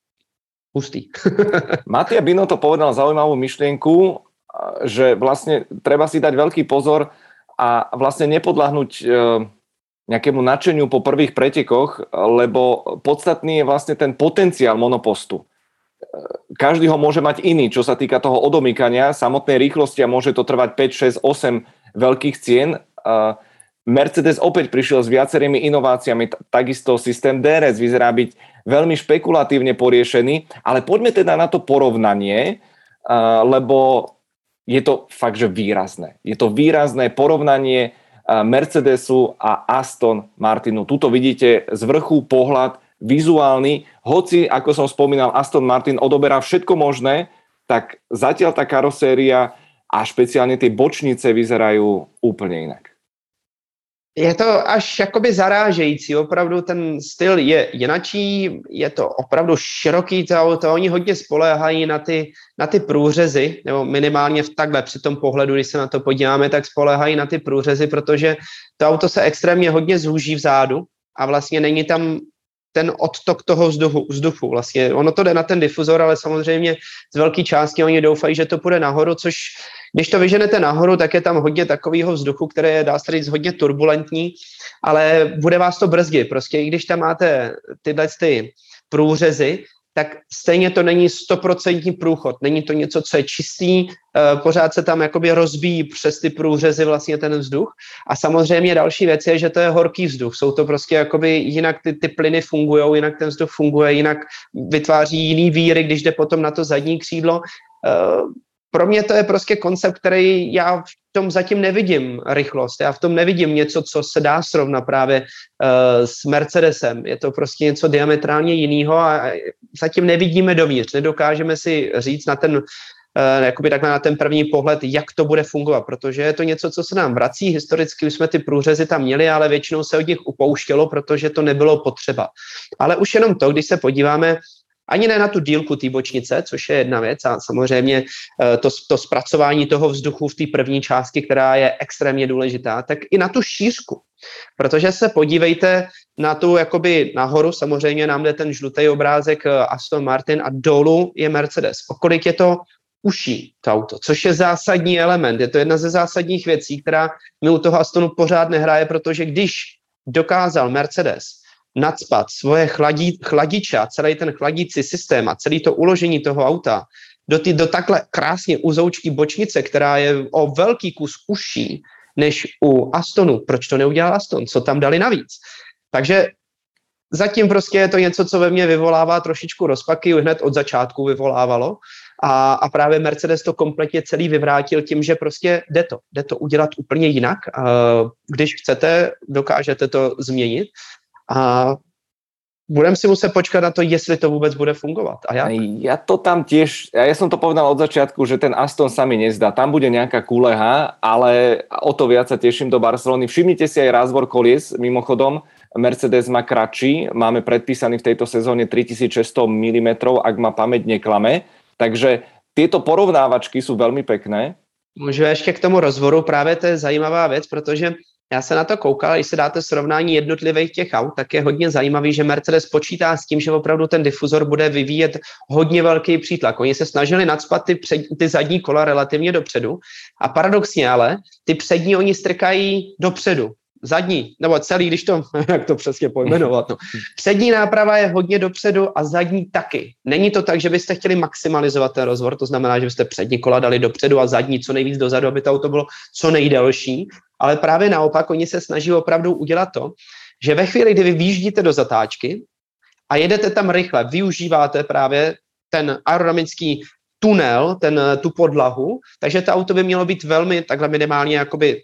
pustý. Mattia Binotto povedal zaujímavú myšlienku, že vlastne treba si dať veľký pozor a vlastne nepodľahnúť nejakému nadšeniu po prvých pretekoch, lebo podstatný je vlastne ten potenciál monopostu. Každý ho môže mať iný, čo sa týka toho odomýkania, samotnej rýchlosti a môže to trvať 5, 6, 8 veľkých cien. Mercedes opäť prišiel s viacerými inováciami, takisto systém DRS vyzerá byť veľmi špekulatívne poriešený, ale poďme teda na to porovnanie, lebo je to fakt, že výrazné. Je to výrazné porovnanie Mercedesu a Aston Martinu. Tuto vidíte z vrchu pohľad vizuálny. Hoci, ako som spomínal, Aston Martin odoberá všetko možné, tak zatiaľ tá karoséria a špeciálne tie bočnice vyzerajú úplne inak. Je to až jakoby zarážející, opravdu ten styl je jinačí, je to opravdu široký to auto, oni hodně spoléhají na ty průřezy, nebo minimálně v takhle při tom pohledu, když se na to podíváme, tak spoléhají na ty průřezy, protože to auto se extrémně hodně zúží vzadu a vlastně není tam ten odtok toho vzduchu. Vlastně ono to jde na ten difuzor, ale samozřejmě z velké části oni doufají, že to půjde nahoru, což když to vyženete nahoru, tak je tam hodně takového vzduchu, které je, dá se říct, hodně turbulentní, ale bude vás to brzdit. Prostě i když tam máte tyhle průřezy, tak stejně to není 100% průchod. Není to něco, co je čistý, pořád se tam jakoby rozbíjí přes ty průřezy vlastně ten vzduch. A samozřejmě další věc je, že to je horký vzduch. Jsou to prostě jakoby jinak ty plyny fungujou, jinak ten vzduch funguje, jinak vytváří jiný víry, když jde potom na to zadní křídlo. Pro mě to je prostě koncept, který já v tom zatím nevidím rychlost. Já v tom nevidím něco, co se dá srovnat právě s Mercedesem. Je to prostě něco diametrálně jiného a zatím nevidíme dovnitř. Nedokážeme si říct na ten, jakoby takhle na ten první pohled, jak to bude fungovat, protože je to něco, co se nám vrací. Historicky už jsme ty průřezy tam měli, ale většinou se od nich upouštělo, protože to nebylo potřeba. Ale už jenom to, když se podíváme ani ne na tu dílku té bočnice, což je jedna věc a samozřejmě to zpracování toho vzduchu v té první části, která je extrémně důležitá, tak i na tu šířku. Protože se podívejte na tu jakoby nahoru, samozřejmě nám jde ten žlutý obrázek Aston Martin a dolů je Mercedes. O kolik je to uší to auto, což je zásadní element. Je to jedna ze zásadních věcí, která mi u toho Astonu pořád nehraje, protože když dokázal Mercedes nacpat svoje chladiče a celý ten chladící systém a celý to uložení toho auta do takhle krásně uzoučký bočnice, která je o velký kus užší než u Astonu. Proč to neudělal Aston? Co tam dali navíc? Takže zatím prostě je to něco, co ve mně vyvolává trošičku rozpaky, hned od začátku vyvolávalo a právě Mercedes to kompletně celý vyvrátil tím, že prostě jde to udělat úplně jinak. Když chcete, dokážete to změnit. A budem si muset počkať na to, jestli to vôbec bude fungovať. A jak? Ja to tam tiež, ja som to povedal od začiatku, že ten Aston sa mi nezdá. Tam bude nejaká kuleha, ale o to viac sa teším do Barcelony. Všimnite si aj rázvor kolies, mimochodom. Mercedes má kratší, máme predpísaný v tejto sezóne 3600 mm, ak ma pamäť neklame. Takže tieto porovnávačky sú veľmi pekné. Můžu ještě k tomu rozvoru, právě to je zajímavá věc, protože já se na to koukal, když se dáte srovnání jednotlivých těch aut, tak je hodně zajímavý, že Mercedes počítá s tím, že opravdu ten difuzor bude vyvíjet hodně velký přítlak. Oni se snažili nacpat ty zadní kola relativně dopředu a paradoxně ale ty přední oni strkají dopředu. Zadní, nebo celý, když to, jak to přesně pojmenovat. No. Přední náprava je hodně dopředu a zadní taky. Není to tak, že byste chtěli maximalizovat ten rozvor, to znamená, že byste přední kola dali dopředu a zadní co nejvíc dozadu, aby to auto bylo co nejdelší, ale právě naopak oni se snaží opravdu udělat to, že ve chvíli, kdy vy vyjíždíte do zatáčky a jedete tam rychle, využíváte právě ten aerodynamický tunel, tu podlahu, takže to auto by mělo být velmi takhle minimálně jakoby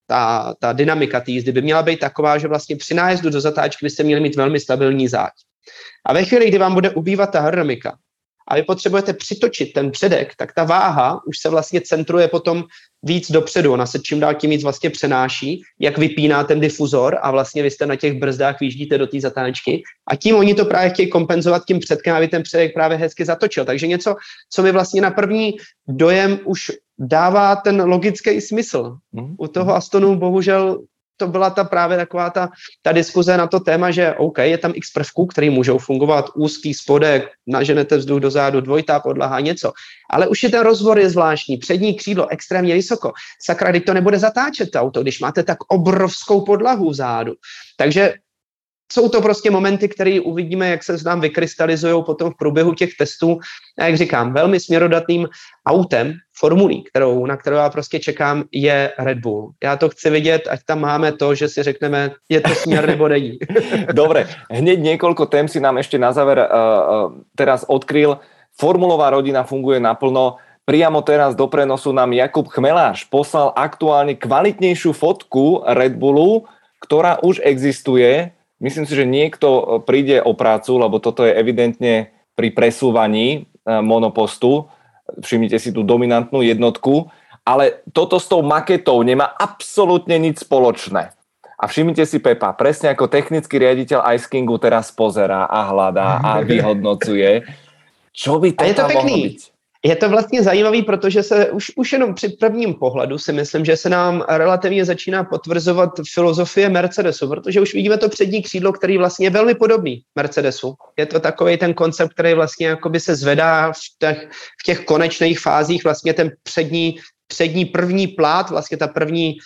ta dynamika té jízdy by měla být taková, že vlastně při nájezdu do zatáčky byste měli mít velmi stabilní záď. A ve chvíli, kdy vám bude ubývat ta aerodynamika a vy potřebujete přitočit ten předek, tak ta váha už se vlastně centruje potom víc dopředu. Ona se čím dál tím víc vlastně přenáší, jak vypíná ten difuzor a vlastně vy jste na těch brzdách vyjíždíte do té zatáčky a tím oni to právě chtějí kompenzovat tím předkem, aby ten předek právě hezky zatočil. Takže něco, co mi vlastně na první dojem už dává ten logický smysl. U toho Astonu bohužel to byla právě taková ta diskuze na to téma, že OK, je tam x prvků, které můžou fungovat, úzký spodek, naženete vzduch dozadu, dvojitá podlaha, něco. Ale už je ten rozvor je zvláštní, přední křídlo extrémně vysoko. Sakra, když to nebude zatáčet to auto, když máte tak obrovskou podlahu vzadu. Takže jsou to prostě momenty, které uvidíme, jak se nám vykrystalizují potom v průběhu těch testů. A jak říkám, velmi směrodatným autem, formulí, na kterou já prostě čekám, je Red Bull. Já to chci vidět, ať tam máme to, že si řekneme, je to směr nebo není. Dobre, hneď niekoľko tém si nám ešte na záver teraz odkryl. Formulová rodina funguje naplno. Priamo teraz do prenosu nám Jakub Chmeláš poslal aktuálne kvalitnejšiu fotku Red Bullu, ktorá už existuje. Myslím si, že niekto príde o prácu, lebo toto je evidentne pri presúvaní monopostu. Všimnite si tú dominantnú jednotku, ale toto s tou maketou nemá absolútne nič spoločné. A všimnite si, Pepa, presne ako technický riaditeľ Ice Kingu teraz pozerá a hľadá a vyhodnocuje. Čo by to tam mohlo byť? Je to vlastně zajímavý, protože se už jenom při prvním pohledu si myslím, že se nám relativně začíná potvrzovat filozofie Mercedesu, protože už vidíme to přední křídlo, který vlastně je velmi podobný Mercedesu. Je to takový ten koncept, který vlastně jakoby se zvedá v těch konečných fázích, vlastně ten přední první plát, vlastně ta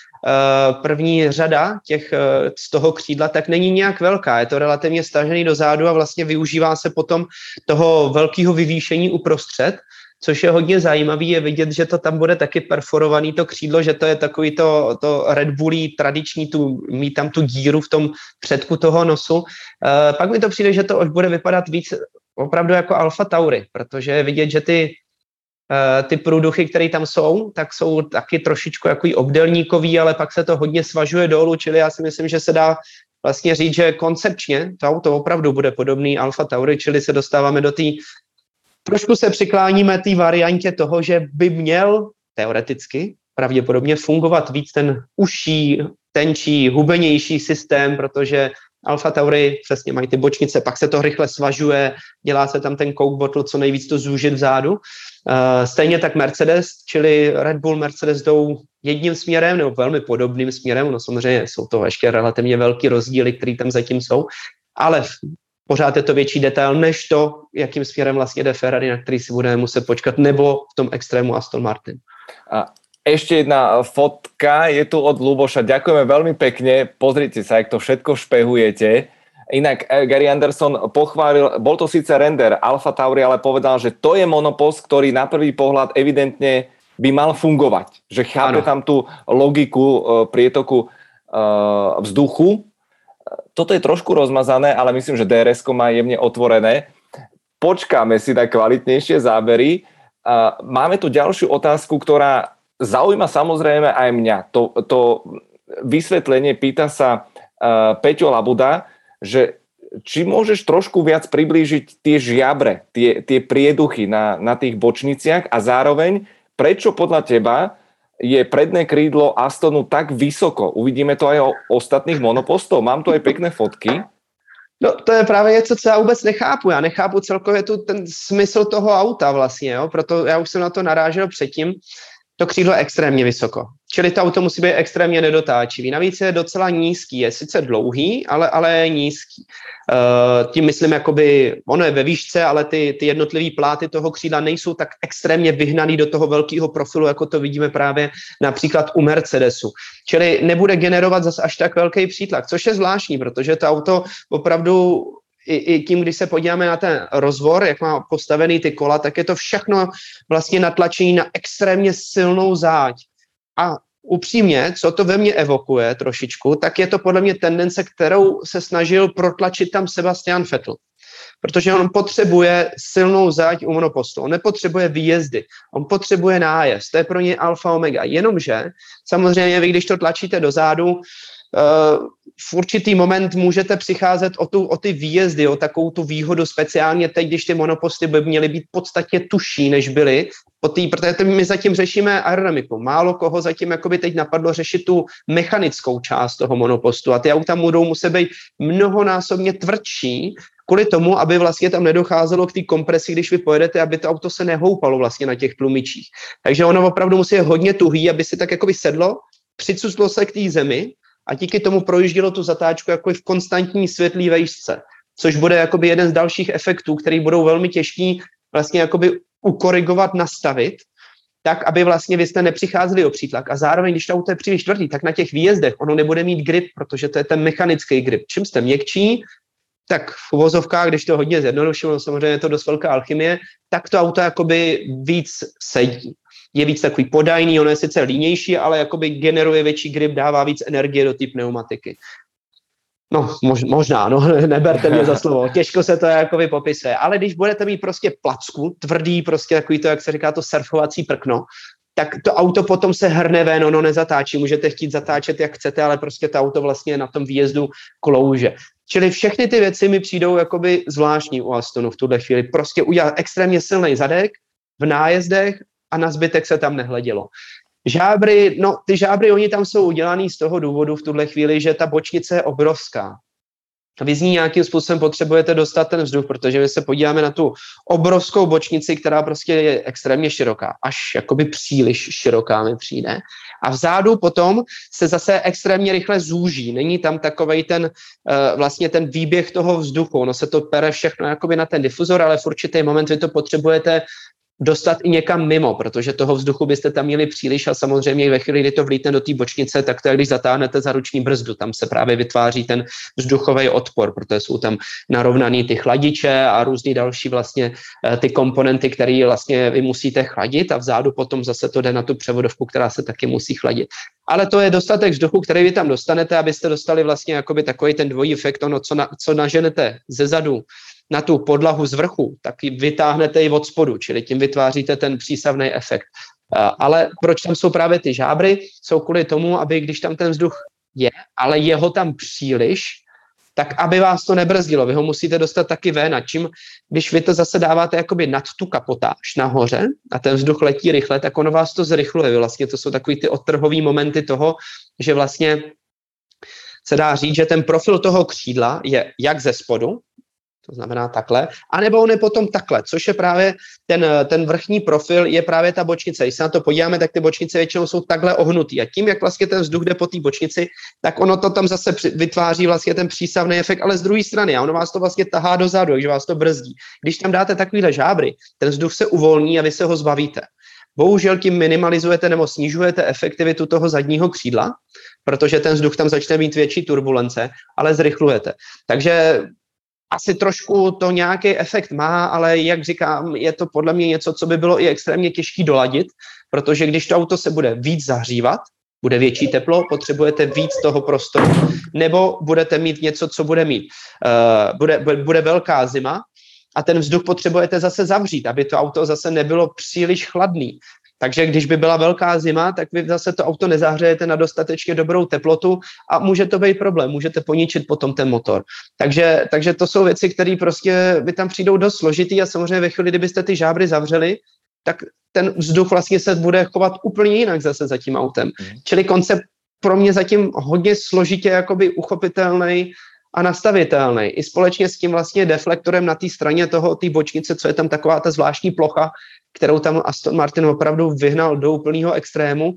první řada z toho křídla, tak není nějak velká. Je to relativně stažený dozadu a vlastně využívá se potom toho velkého vyvýšení uprostřed, což je hodně zajímavý, je vidět, že to tam bude taky perforovaný to křídlo, že to je takový to Red Bullí tradiční, mít tam tu díru v tom předku toho nosu. Pak mi to přijde, že to už bude vypadat víc opravdu jako Alfa Tauri, protože je vidět, že ty průduchy, které tam jsou, tak jsou taky trošičku jako obdélníkový, ale pak se to hodně svažuje dolů, čili já si myslím, že se dá vlastně říct, že koncepčně to auto opravdu bude podobný Alfa Tauri, čili se dostáváme do té trošku se přikláníme té variantě toho, že by měl teoreticky pravděpodobně fungovat víc ten užší, tenčí, hubenější systém, protože Alfa Tauri přesně mají ty bočnice, pak se to rychle svažuje, dělá se tam ten coke bottle, co nejvíc to zúžit vzadu. Stejně tak Mercedes, čili Red Bull, Mercedes jdou jedním směrem nebo velmi podobným směrem, no samozřejmě jsou to ještě relativně velký rozdíly, které tam zatím jsou, ale pořád je to větší detail než to, jakým směrem vlastně jde Ferrari, na který si budeme muset počkat, nebo v tom extrému Aston Martin. A ešte jedna fotka je tu od Luboša. Ďakujeme veľmi pekne. Pozrite sa, jak to všetko špehujete. Inak Gary Anderson pochválil, bol to síce render Alfa Tauri, ale povedal, že to je monopost, ktorý na prvý pohľad evidentne by mal fungovať. Že chápe tam tú logiku prietoku vzduchu. Toto je trošku rozmazané, ale myslím, že DRS-ko má jemne otvorené. Počkáme si na kvalitnejšie zábery. Máme tu ďalšiu otázku, ktorá zaujíma samozrejme aj mňa. To vysvetlenie pýta sa Peťo Labuda, že či môžeš trošku viac priblížiť tie žiabre, tie prieduchy na tých bočniciach a zároveň, prečo podľa teba je predné krídlo Astonu tak vysoko. Uvidíme to aj o ostatných monopostov. Mám tu aj pekné fotky. No to je právě něco, co já vůbec nechápu. Já nechápu celkově ten smysl toho auta vlastně, jo? Proto já už jsem na to narážel předtím. To křídlo je extrémně vysoko. Čili to auto musí být extrémně nedotáčivý. Navíc je docela nízký. Je sice dlouhý, ale je nízký. Tím myslím, jakoby, ono je ve výšce, ale ty jednotlivý pláty toho křídla nejsou tak extrémně vyhnaný do toho velkého profilu, jako to vidíme právě například u Mercedesu. Čili nebude generovat zase až tak velký přítlak, což je zvláštní, protože to auto opravdu i tím, když se podíváme na ten rozvor, jak má postavený ty kola, tak je to všechno vlastně natlačení na extrémně silnou záď. A upřímně, co to ve mně evokuje trošičku, tak je to podle mě tendence, kterou se snažil protlačit tam Sebastian Vettel. Protože on potřebuje silnou záď u monopostu. On nepotřebuje výjezdy, on potřebuje nájezd. To je pro něj alfa omega. Jenomže samozřejmě vy, když to tlačíte dozadu, v určitý moment můžete přicházet o ty výjezdy, o takovou tu výhodu, speciálně teď, když ty monoposty by měly být podstatně tužší, než byly, protože my zatím řešíme aerodynamiku. Málo koho zatím jakoby teď napadlo řešit tu mechanickou část toho monopostu a ty auta budou muset být mnohonásobně tvrdší, kvůli tomu, aby vlastně tam nedocházelo k té kompresi, když vy pojedete, aby to auto se nehoupalo vlastně na těch tlumičích. Takže ono opravdu musí být hodně tuhý, aby si tak jakoby sedlo, přicuclo se k té zemi a díky tomu projíždělo tu zatáčku jako v konstantní světlý vejšce, což bude jakoby jeden z dalších efektů, který budou velmi těžký vlastně jakoby ukorigovat, nastavit, tak, aby vlastně vy jste nepřicházeli o přítlak. A zároveň, když to auto je příliš tvrdý, tak na těch výjezdech ono nebude mít grip, protože to je ten mechanický grip. Čím jste měkčí, tak v uvozovkách, když to hodně zjednodušilo, samozřejmě je to dost velká alchymie, tak to auto jakoby víc sedí. Je víc takový podajný, ono je sice línější, ale jakoby generuje větší grip, dává víc energie do té pneumatiky. No, možná, no, neberte mě za slovo, těžko se to jakoby popisuje, ale když budete mít prostě placku, tvrdý, prostě takový to, jak se říká, to surfovací prkno, tak to auto potom se hrne ven, ono nezatáčí, můžete chtít zatáčet, jak chcete, ale prostě to auto vlastně na tom výjezdu klouže. Čili všechny ty věci mi přijdou jakoby zvláštní u Astonu v tuhle chvíli. Prostě udělat extrémně silný zadek v nájezdech a na zbytek se tam nehledělo. Žábry, no ty žábry, oni tam jsou udělaný z toho důvodu v tuhle chvíli, že ta bočnice je obrovská. Vy z ní nějakým způsobem potřebujete dostat ten vzduch, protože my se podíváme na tu obrovskou bočnici, která prostě je extrémně široká, až jakoby příliš široká mi přijde. A vzadu potom se zase extrémně rychle zúží. Není tam takovej ten vlastně ten výběh toho vzduchu. Ono se to pere všechno jakoby na ten difuzor, ale v určitý moment vy to potřebujete dostat i někam mimo, protože toho vzduchu byste tam měli příliš a samozřejmě ve chvíli, kdy to vlítne do té bočnice, tak to je, když zatáhnete za ruční brzdu, tam se právě vytváří ten vzduchový odpor, protože jsou tam narovnaný ty chladiče a různý další vlastně ty komponenty, které vlastně vy musíte chladit a vzadu potom zase to jde na tu převodovku, která se taky musí chladit. Ale to je dostatek vzduchu, který vy tam dostanete, abyste dostali vlastně jakoby takový ten dvojí efekt, ono, co naženete ze zadu na tu podlahu z vrchu, tak ji vytáhnete i od spodu, čili tím vytváříte ten přísavný efekt. Ale proč tam jsou právě ty žábry? Jsou kvůli tomu, aby když tam ten vzduch je, ale je ho tam příliš, tak aby vás to nebrzdilo. Vy ho musíte dostat taky ven. A čím, když vy to zase dáváte jakoby nad tu kapotáž nahoře a ten vzduch letí rychle, tak ono vás to zrychluje. Vlastně to jsou takový ty odtrhový momenty toho, že vlastně se dá říct, že ten profil toho křídla je jak ze spodu, to znamená takhle, anebo on je potom takhle, což je právě ten vrchní profil, je právě ta bočnice. Když se na to podíváme, tak ty bočnice většinou jsou takhle ohnutý a tím, jak vlastně ten vzduch jde po té bočnici, tak ono to tam zase vytváří vlastně ten přísavný efekt, ale z druhé strany a ono vás to vlastně tahá dozadu, takže vás to brzdí. Když tam dáte takovýhle žábry, ten vzduch se uvolní a vy se ho zbavíte. Bohužel tím minimalizujete nebo snižujete efektivitu toho zadního křídla, protože ten vzduch tam začne mít větší turbulence, ale zrychlujete. Takže asi trošku to nějaký efekt má, ale jak říkám, je to podle mě něco, co by bylo i extrémně těžké doladit, protože když to auto se bude víc zahřívat, bude větší teplo, potřebujete víc toho prostoru, nebo budete mít něco, co bude mít, bude velká zima a ten vzduch potřebujete zase zavřít, aby to auto zase nebylo příliš chladný. Takže když by byla velká zima, tak vy zase to auto nezahřejete na dostatečně dobrou teplotu a může to být problém, můžete poničit potom ten motor. Takže to jsou věci, které prostě by tam přijdou dost složitý a samozřejmě ve chvíli, kdybyste ty žábry zavřeli, tak ten vzduch vlastně se bude chovat úplně jinak zase za tím autem. Čili koncept pro mě zatím hodně složitě jakoby uchopitelný a nastavitelný. I společně s tím vlastně deflektorem na té straně té bočnice, co je tam taková ta zvláštní plocha, kterou tam Aston Martin opravdu vyhnal do úplného extrému,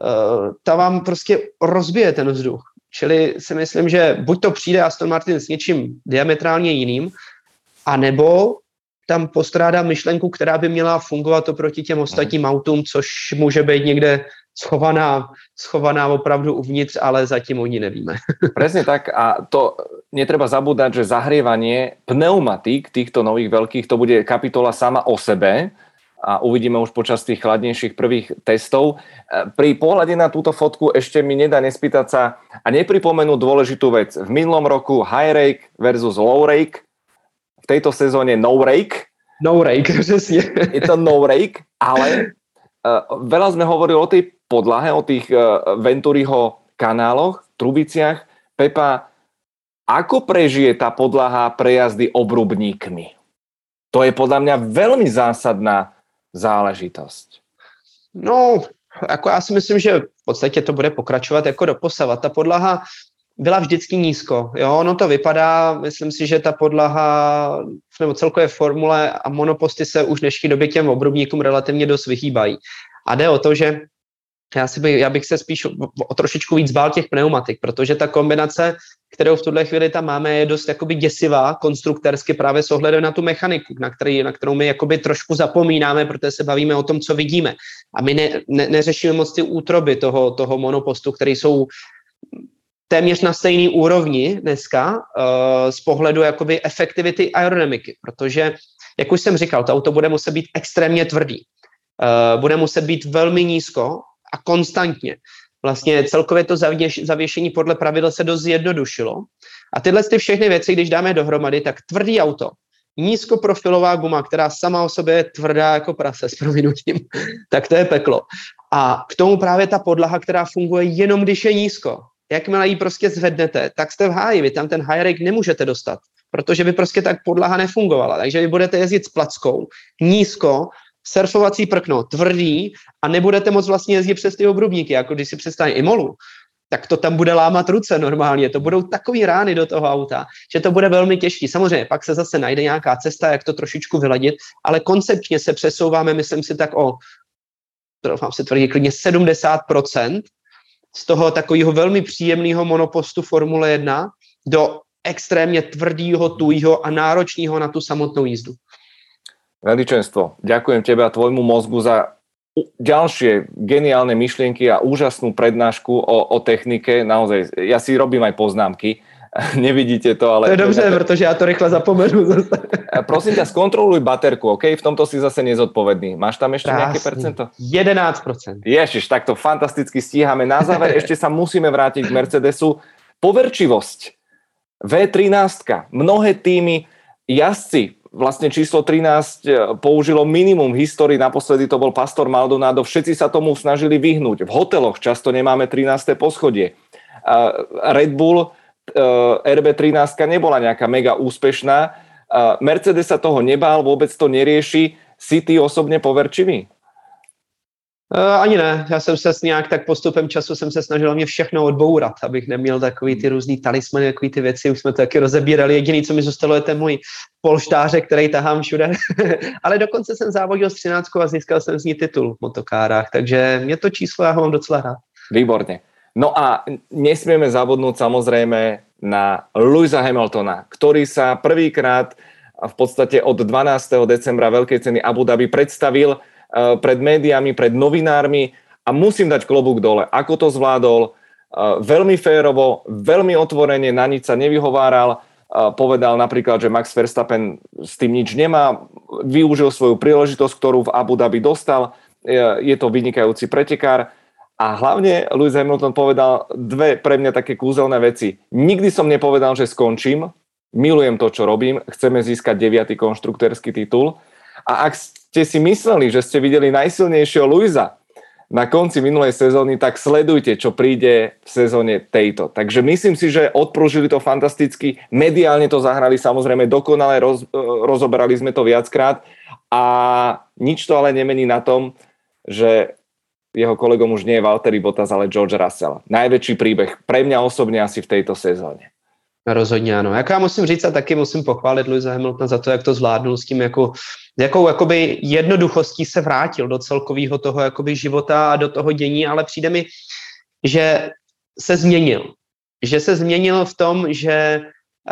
ta vám prostě rozbije ten vzduch. Čili si myslím, že buď to přijde Aston Martin s něčím diametrálně jiným, anebo tam postrádá myšlenku, která by měla fungovat oproti těm ostatním autům, což může být někde schovaná opravdu uvnitř, ale zatím o ní nevíme. Presne tak a to netreba zabúdať, že zahrievanie pneumatík týchto nových veľkých, to bude kapitola sama o sebe a uvidíme už počas tých chladnejších prvých testov. Pri pohľade na túto fotku ešte mi nedá nespýtať sa a nepripomenúť dôležitú vec. V minulom roku high rake versus low rake, v tejto sezóne no rake. No rake, přesně. Je to no rake, ale veľa sme hovorili o tej podlahe, o tých Venturiho kanáloch, trubiciach. Pepa, ako prežije tá podlaha prejazdy obrubníkmi? To je podľa mňa veľmi zásadná záležitosť. No, jako já si myslím, že v podstatě to bude pokračovat jako doposavat. Ta podlaha byla vždycky nízko. Jo, ono to vypadá, myslím si, že ta podlaha nebo celkové formule a monoposty se už v dnešní době těm obrubníkům relativně dost vyhýbají. A jde o to, že Já bych se spíš o trošičku víc bál těch pneumatik, protože ta kombinace, kterou v tuhle chvíli tam máme, je dost jakoby děsivá konstruktérsky právě s ohledem na tu mechaniku, na kterou my jakoby trošku zapomínáme, protože se bavíme o tom, co vidíme. A my neřešíme moc ty útroby toho monopostu, které jsou téměř na stejný úrovni dneska z pohledu jakoby efektivity aerodynamiky, protože, jak už jsem říkal, to auto bude muset být extrémně tvrdý. Bude muset být velmi nízko a konstantně. Vlastně celkově to zavěšení podle pravidel se dost zjednodušilo. A tyhle všechny věci, když dáme dohromady, tak tvrdý auto, nízkoprofilová guma, která sama o sobě je tvrdá jako prase s prominutím, tak to je peklo. A k tomu právě ta podlaha, která funguje jenom když je nízko. Jakmile ji prostě zvednete, tak jste v háji, vy tam ten high rake nemůžete dostat, protože by prostě tak podlaha nefungovala. Takže vy budete jezdit s plackou, nízko, surfovací prkno, tvrdý a nebudete moc vlastně jezdit přes ty obrubníky, jako když si představíte Imolu, tak to tam bude lámat ruce normálně, to budou takový rány do toho auta, že to bude velmi těžký. Samozřejmě pak se zase najde nějaká cesta, jak to trošičku vyladit, ale koncepčně se přesouváme, myslím si tak mám si tvrdit klidně 70% z toho takového velmi příjemného monopostu Formule 1 do extrémně tvrdého, tujího a náročného na tu samotnou jízdu. Veličenstvo, ďakujem tebe a tvojmu mozgu za ďalšie geniálne myšlienky a úžasnú prednášku o technike. Naozaj, ja si robím aj poznámky. Nevidíte to, ale... To je dobře, protože ja to rýchle zapomenu zase. Prosím ťa, skontroluj baterku, OK? V tomto si zase nezodpovedný. Máš tam ešte nejaké percento? 11%. Ježiš, tak to fantasticky stíhame. Na záver ešte sa musíme vrátiť k Mercedesu. Poverčivosť. V13. Mnohé týmy, jazdci, vlastne číslo 13 použilo minimum v histórii, naposledy to bol Pastor Maldonado, všetci sa tomu snažili vyhnúť. V hoteloch často nemáme 13. poschodie. Red Bull RB13 nebola nejaká mega úspešná. Mercedes sa toho nebál, vôbec to nerieši. Si ty osobne poverčivý? Ani ne, já jsem se nějak tak postupem času jsem se snažil mě všechno odbourat, abych neměl takový ty různý talismany, takový ty věci, už jsme to taky rozebírali. Jediný, co mi zůstalo, je ten můj polštářek, který tahám všude. Ale dokonce jsem závodil s 13 a získal jsem z ní titul v motokárách, takže mě to číslo, já ho mám docela rád. Výborne. No a nesmieme zabudnúť samozrejme na Lewisa Hamiltona, ktorý sa prvýkrát v podstate od 12. decembra Veľkej ceny Abu Dhabi predstavil pred médiami, pred novinármi a musím dať klobúk dole. Ako to zvládol? Veľmi férovo, veľmi otvorene, na nič sa nevyhováral. Povedal napríklad, že Max Verstappen s tým nič nemá. Využil svoju príležitosť, ktorú v Abu Dhabi dostal. Je to vynikajúci pretekár. A hlavne Lewis Hamilton povedal dve pre mňa také kúzelné veci. Nikdy som nepovedal, že skončím. Milujem to, čo robím. Chceme získať 9. konštruktérsky titul. A ak ste si mysleli, že ste videli najsilnejšieho Lewisa na konci minulej sezóny, tak sledujte, čo príde v sezóne tejto. Takže myslím si, že odpružili to fantasticky, mediálne to zahrali samozrejme dokonale, rozoberali sme to viackrát a nič to ale nemení na tom, že jeho kolegom už nie je Valtteri Bottas, ale George Russell. Najväčší príbeh pre mňa osobne asi v tejto sezóne. Rozhodně ano. Jak já musím říct a taky musím pochválit Lewisa Hamiltona za to, jak to zvládnul s tím, jakou jakoby jednoduchostí se vrátil do celkového toho jakoby života a do toho dění, ale přijde mi, že se změnil. Že se změnil v tom, že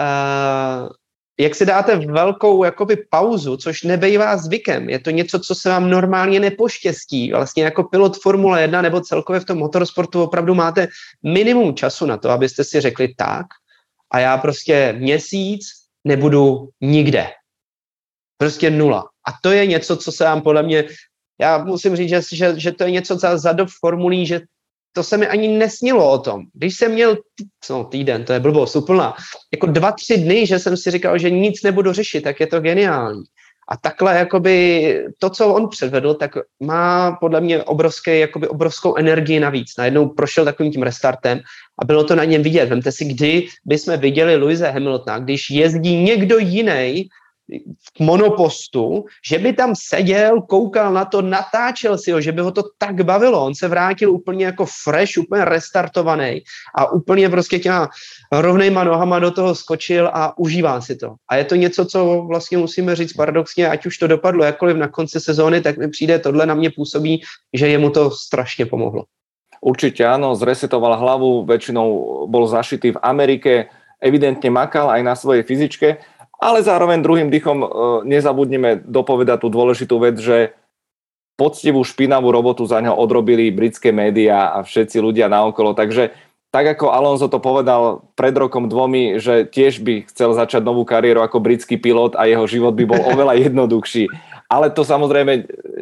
jak si dáte velkou jakoby pauzu, což nebejvá zvykem, je to něco, co se vám normálně nepoštěstí. Vlastně jako pilot Formule 1 nebo celkově v tom motorsportu opravdu máte minimum času na to, abyste si řekli tak, a já prostě měsíc nebudu nikde. Prostě nula. A to je něco, co se vám podle mě, já musím říct, že to je něco za dob formulí, že to se mi ani nesnilo o tom. Když jsem měl týden, to je blbost úplná, jako 2-3 dny, že jsem si říkal, že nic nebudu řešit, tak je to geniální. A takhle jakoby to, co on předvedl, tak má podle mě obrovskou energii navíc. Najednou prošel takovým tím restartem a bylo to na něm vidět. Vemte si, kdy bychom viděli Lewise Hamiltona, když jezdí někdo jiný v monopostu, že by tam seděl, koukal na to, natáčel si ho, že by ho to tak bavilo. On se vrátil úplně jako fresh, úplně restartovaný a úplně prostě těma rovnejma nohama do toho skočil a užívá si to. A je to něco, co vlastně musíme říct paradoxně, ať už to dopadlo jakkoliv na konci sezóny, tak mi přijde tohle na mě působí, že jemu to strašně pomohlo. Určite áno, zresetoval hlavu, väčšinou bol zašitý v Amerike, evidentne makal aj na svojej fyzičke, ale zároveň druhým dychom nezabudnime dopovedať tú dôležitú vec, že poctivú špinavú robotu za ňo odrobili britské médiá a všetci ľudia naokolo. Takže tak ako Alonso to povedal pred rokom dvomi, že tiež by chcel začať novú kariéru ako britský pilot a jeho život by bol oveľa jednoduchší. Ale to samozrejme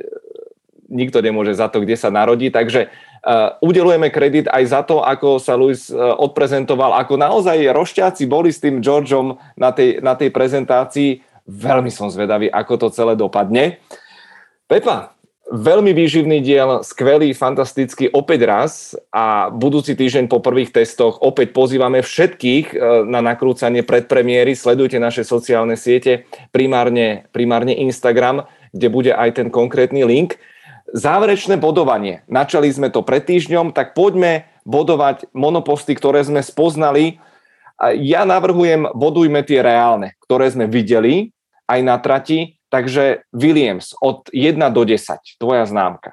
nikto nemôže za to, kde sa narodí. Takže udelujeme kredit aj za to, ako sa Lewis odprezentoval, ako naozaj rošťáci boli s tým Georgeom na tej prezentácii. Veľmi som zvedavý, ako to celé dopadne. Pepa, veľmi výživný diel, skvelý, fantastický, opäť raz a budúci týždeň po prvých testoch opäť pozývame všetkých na nakrúcanie predpremiéry. Sledujte naše sociálne siete, primárne Instagram, kde bude aj ten konkrétny link. Záverečné bodovanie. Načali sme to pred týždňom, tak poďme bodovať monoposty, ktoré sme spoznali. Ja navrhujem, bodujme tie reálne, ktoré sme videli aj na trati. Takže Williams od 1 do 10, tvoja známka.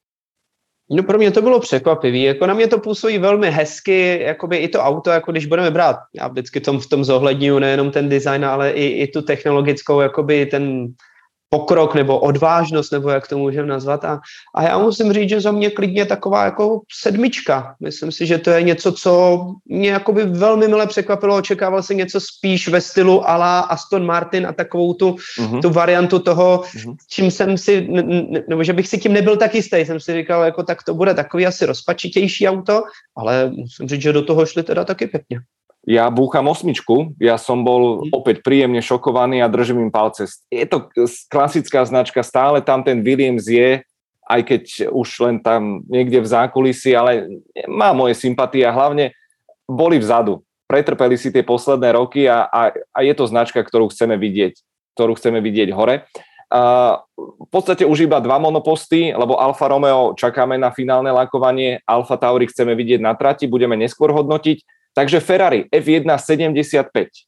No pro mě to bylo překvapivý, jako na mě to působí velmi hezky, jakoby i to auto, jako když budeme brát, já vždycky v tom zohledňuji nejenom ten design, ale i tu technologickou, jakoby ten pokrok nebo odvážnost, nebo jak to můžeme nazvat. A já musím říct, že za mě klidně taková jako 7. Myslím si, že to je něco, co mě jakoby velmi mile překvapilo. Očekával jsem něco spíš ve stylu à la Aston Martin a takovou tu variantu toho, čím jsem si, nebo že bych si tím nebyl tak jistý. Jsem si říkal, jako tak to bude takový asi rozpačitější auto, ale musím říct, že do toho šli teda taky pěkně. Ja búcham 8. Ja som bol opäť príjemne šokovaný a držím im palce. Je to klasická značka, stále tam ten Williams je, aj keď už len tam niekde v zákulisí, ale má moje sympatie a hlavne boli vzadu. Pretrpeli si tie posledné roky a je to značka, ktorú chceme vidieť hore. V podstate už iba 2 monoposty, lebo Alfa Romeo čakáme na finálne lakovanie, Alfa Tauri chceme vidieť na trati, budeme neskôr hodnotiť. Takže Ferrari F1 75.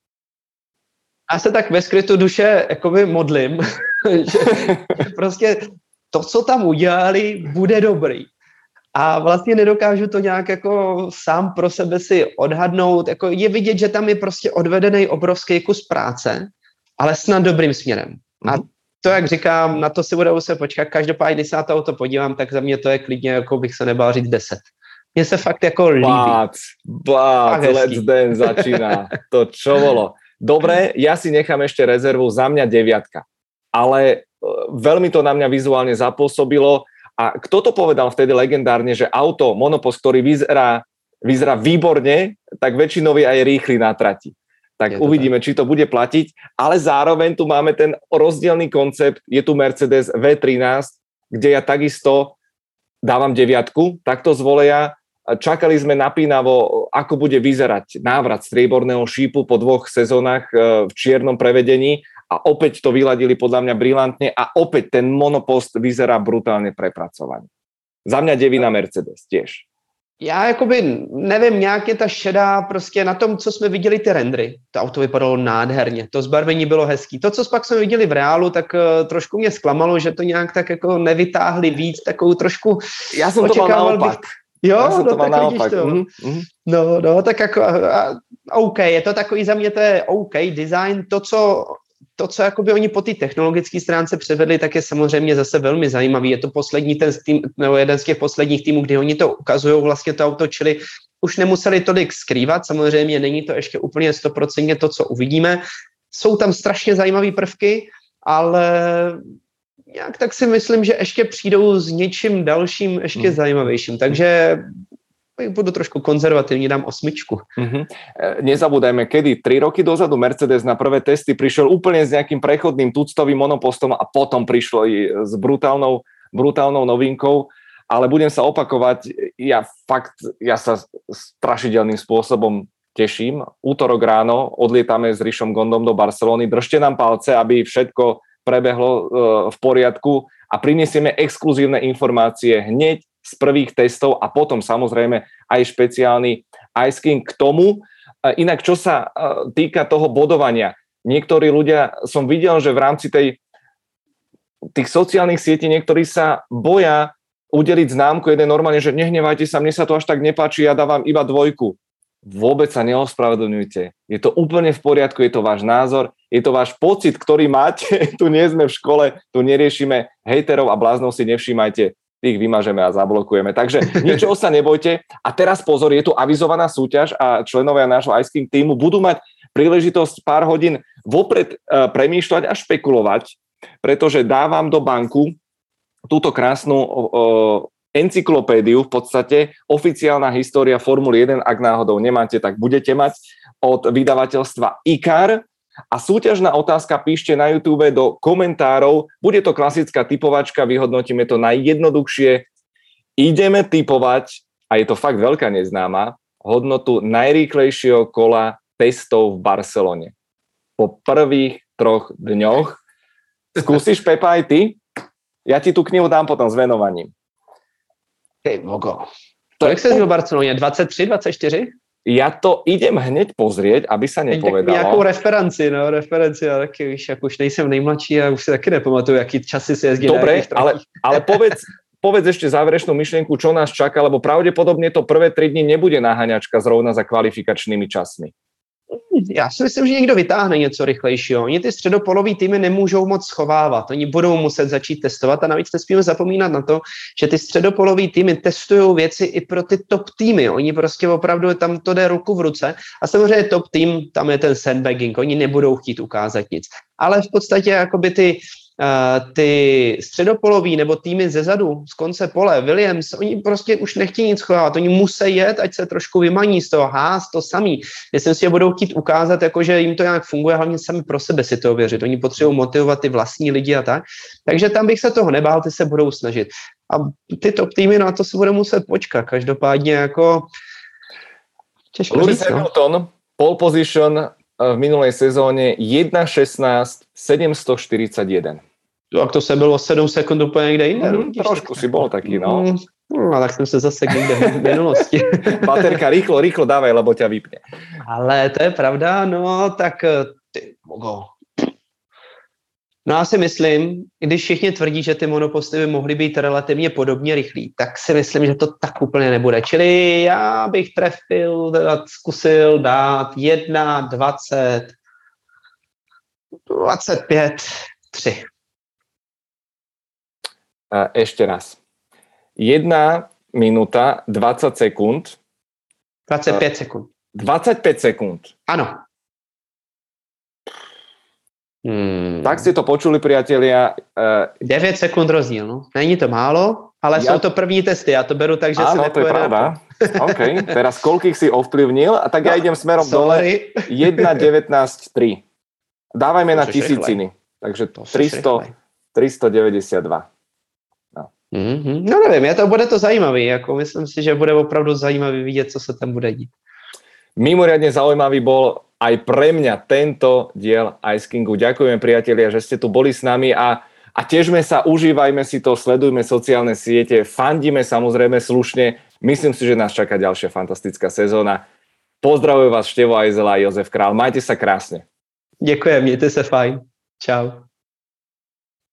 Já se tak ve skrytu duše jakoby modlím, že prostě to, co tam udělali, bude dobrý. A vlastně nedokážu to nějak jako sám pro sebe si odhadnout. Jako je vidět, že tam je prostě odvedený obrovský kus práce, ale snad dobrým směrem. A to, jak říkám, na to si bude muset počkat. Každopádně, když se na to auto podívám, tak za mě to je klidně, jako bych se nebál říct 10. Mne sa fakt ako líbí. Bác, Let's Dance začína. To čo bolo? Dobre, ja si nechám ešte rezervu, za mňa 9. Ale veľmi to na mňa vizuálne zapôsobilo. A kto to povedal vtedy legendárne, že auto, monopost, ktorý vyzerá výborne, tak väčšinou je aj rýchly na trati. Tak uvidíme, či to bude platiť. Ale zároveň tu máme ten rozdielný koncept. Je tu Mercedes V13, kde ja takisto dávam 9, takto z voleja. Čakali sme napínavo, ako bude vyzerať návrat strieborného šípu po 2 sezónach v čiernom prevedení a opäť to vyladili podľa mňa brilantne a opäť ten monopost vyzerá brutálne prepracovaný. Za mňa 9 Mercedes tiež. Já jakoby nevím, nějak je ta šedá prostě na tom, co jsme viděli ty rendery. To auto vypadalo nádherně, to zbarvení bylo hezký. To, co pak jsme viděli v reálu, tak trošku mě zklamalo, že to nějak tak jako nevytáhli víc, takovou trošku... Já jsem to mal naopak. Jo, no tak vidíš to. No, tak jako OK, je to takový, za mě to je OK design, to, co jakoby oni po té technologické stránce převedli, tak je samozřejmě zase velmi zajímavý. Je to jeden z těch posledních týmů, kdy oni to ukazují vlastně to auto, čili už nemuseli tolik skrývat. Samozřejmě není to ještě úplně 100% to, co uvidíme. Jsou tam strašně zajímavé prvky, ale nějak tak si myslím, že ještě přijdou s něčím dalším ještě zajímavějším. Takže budu trošku konzervatívne, dám 8. Nezabúdajme, kedy 3 roky dozadu Mercedes na prvé testy prišiel úplne s nejakým prechodným tuctovým monopostom a potom prišlo i s brutálnou novinkou, ale budem sa opakovať, ja sa strašidelným spôsobom teším. Útorok ráno odlietame s Rišom Gondom do Barcelony, držte nám palce, aby všetko prebehlo v poriadku a prinesieme exkluzívne informácie hneď z prvých testov a potom samozrejme aj špeciálny Ice King k tomu. Inak, čo sa týka toho bodovania, niektorí ľudia, som videl, že v rámci tých sociálnych sietí niektorí sa boja udeliť známku jeden normálne, že nehnevajte sa, mne sa to až tak nepáči, ja dávam iba 2. Vôbec sa neospravedlňujte. Je to úplne v poriadku, je to váš názor, je to váš pocit, ktorý máte. Tu nie sme v škole, tu neriešime hejterov a bláznov, si nevšímajte, tých vymažeme a zablokujeme. Takže ničoho sa nebojte. A teraz pozor, je tu avizovaná súťaž a členovia nášho Ice King týmu budú mať príležitosť pár hodín vopred premýšľať a špekulovať, pretože dávam do banku túto krásnu encyklopédiu, v podstate oficiálna história Formuly 1, ak náhodou nemáte, tak budete mať, od vydavateľstva ICAR. A súťažná otázka píšte na YouTube do komentárov. Bude to klasická typovačka, vyhodnotíme to najjednoduchšie. Ideme typovať, a je to fakt veľká neznáma, hodnotu najrýchlejšieho kola testov v Barcelone. Po prvých 3 dňoch. Skúsiš, Pepa, aj ty? Ja ti tú knihu dám potom s venovaním. Hej, Bogo. Kolik se v Barceloně? 23, 24? Ja to idem hneď pozrieť, aby sa nepovedalo. Nějakou referenci, ale taky, víš, jak už nejsem nejmladší a už si taky nepamatuju, jaký časy si jezdí. Dobre, ale povedz ešte záverečnú myšlienku, čo nás čaká, lebo pravdepodobne to prvé 3 dni nebude naháňačka zrovna za kvalifikačnými časmi. Já si myslím, že někdo vytáhne něco rychlejšího. Oni ty středopolový týmy nemůžou moc schovávat. Oni budou muset začít testovat a navíc nesmíme zapomínat na to, že ty středopolový týmy testují věci i pro ty top týmy. Oni prostě opravdu tam to jde ruku v ruce. A samozřejmě top tým, tam je ten sandbagging. Oni nebudou chtít ukázat nic. Ale v podstatě jakoby ty středopolový nebo týmy zezadu, z konce pole, Williams, oni prostě už nechtějí nic schovávat, oni musí jet, ať se trošku vymaní z toho, to samý. Myslím si, že budou chtít ukázat, jako, že jim to nějak funguje, hlavně sami pro sebe si to ověřit. Oni potřebují motivovat ty vlastní lidi a tak. Takže tam bych se toho nebál, ty se budou snažit. A ty top týmy na to se budou muset počkat. Každopádně jako těžko Lewis říct, Hamilton, pole position v minulej sezóne 1.16 741. Tak to se bylo 7 sekund úplně někde jinde. Trošku si bol taký, no. No, tak jsem se zase někde v minulosti. Baterka, rýchlo dávaj, lebo ťa vypne. Ale to je pravda, no tak ty Bogo. No já si myslím, když všichni tvrdí, že ty monoposty by mohly být relativně podobně rychlý, tak si myslím, že to tak úplně nebude. Čili já bych zkusil dát 1, 20, 25, 3. Ešte raz. 1 minúta 20 sekúnd. 25 sekund. 25 sekúnd. Ano. Tak ste to počuli, priatelia. 9 sekund rozdíl, no. Není to málo, ale jsou to první testy, já to beru tak, že áno, se to je pravda. OK, teraz koľkých si ovplyvnil, a tak ja idem smerom dole. 1.19.3. Dávajme na tisíciny. Takže 392. No. No nevím, bude to zajímavý, jako myslím si, že bude opravdu zajímavý vidět, co se tam bude dít. Mimoriadne zaujímavý bol aj pre mňa tento diel Ice Kingu. Ďakujem, priatelia, že ste tu boli s nami a težme sa, užívajme si to, sledujme sociálne siete, fandíme samozrejme slušne. Myslím si, že nás čaká ďalšia fantastická sezóna. Pozdravujem vás Števo Ajzela a Jozef Král. Majte sa krásne. Děkujem, mějte se fajn. Čau.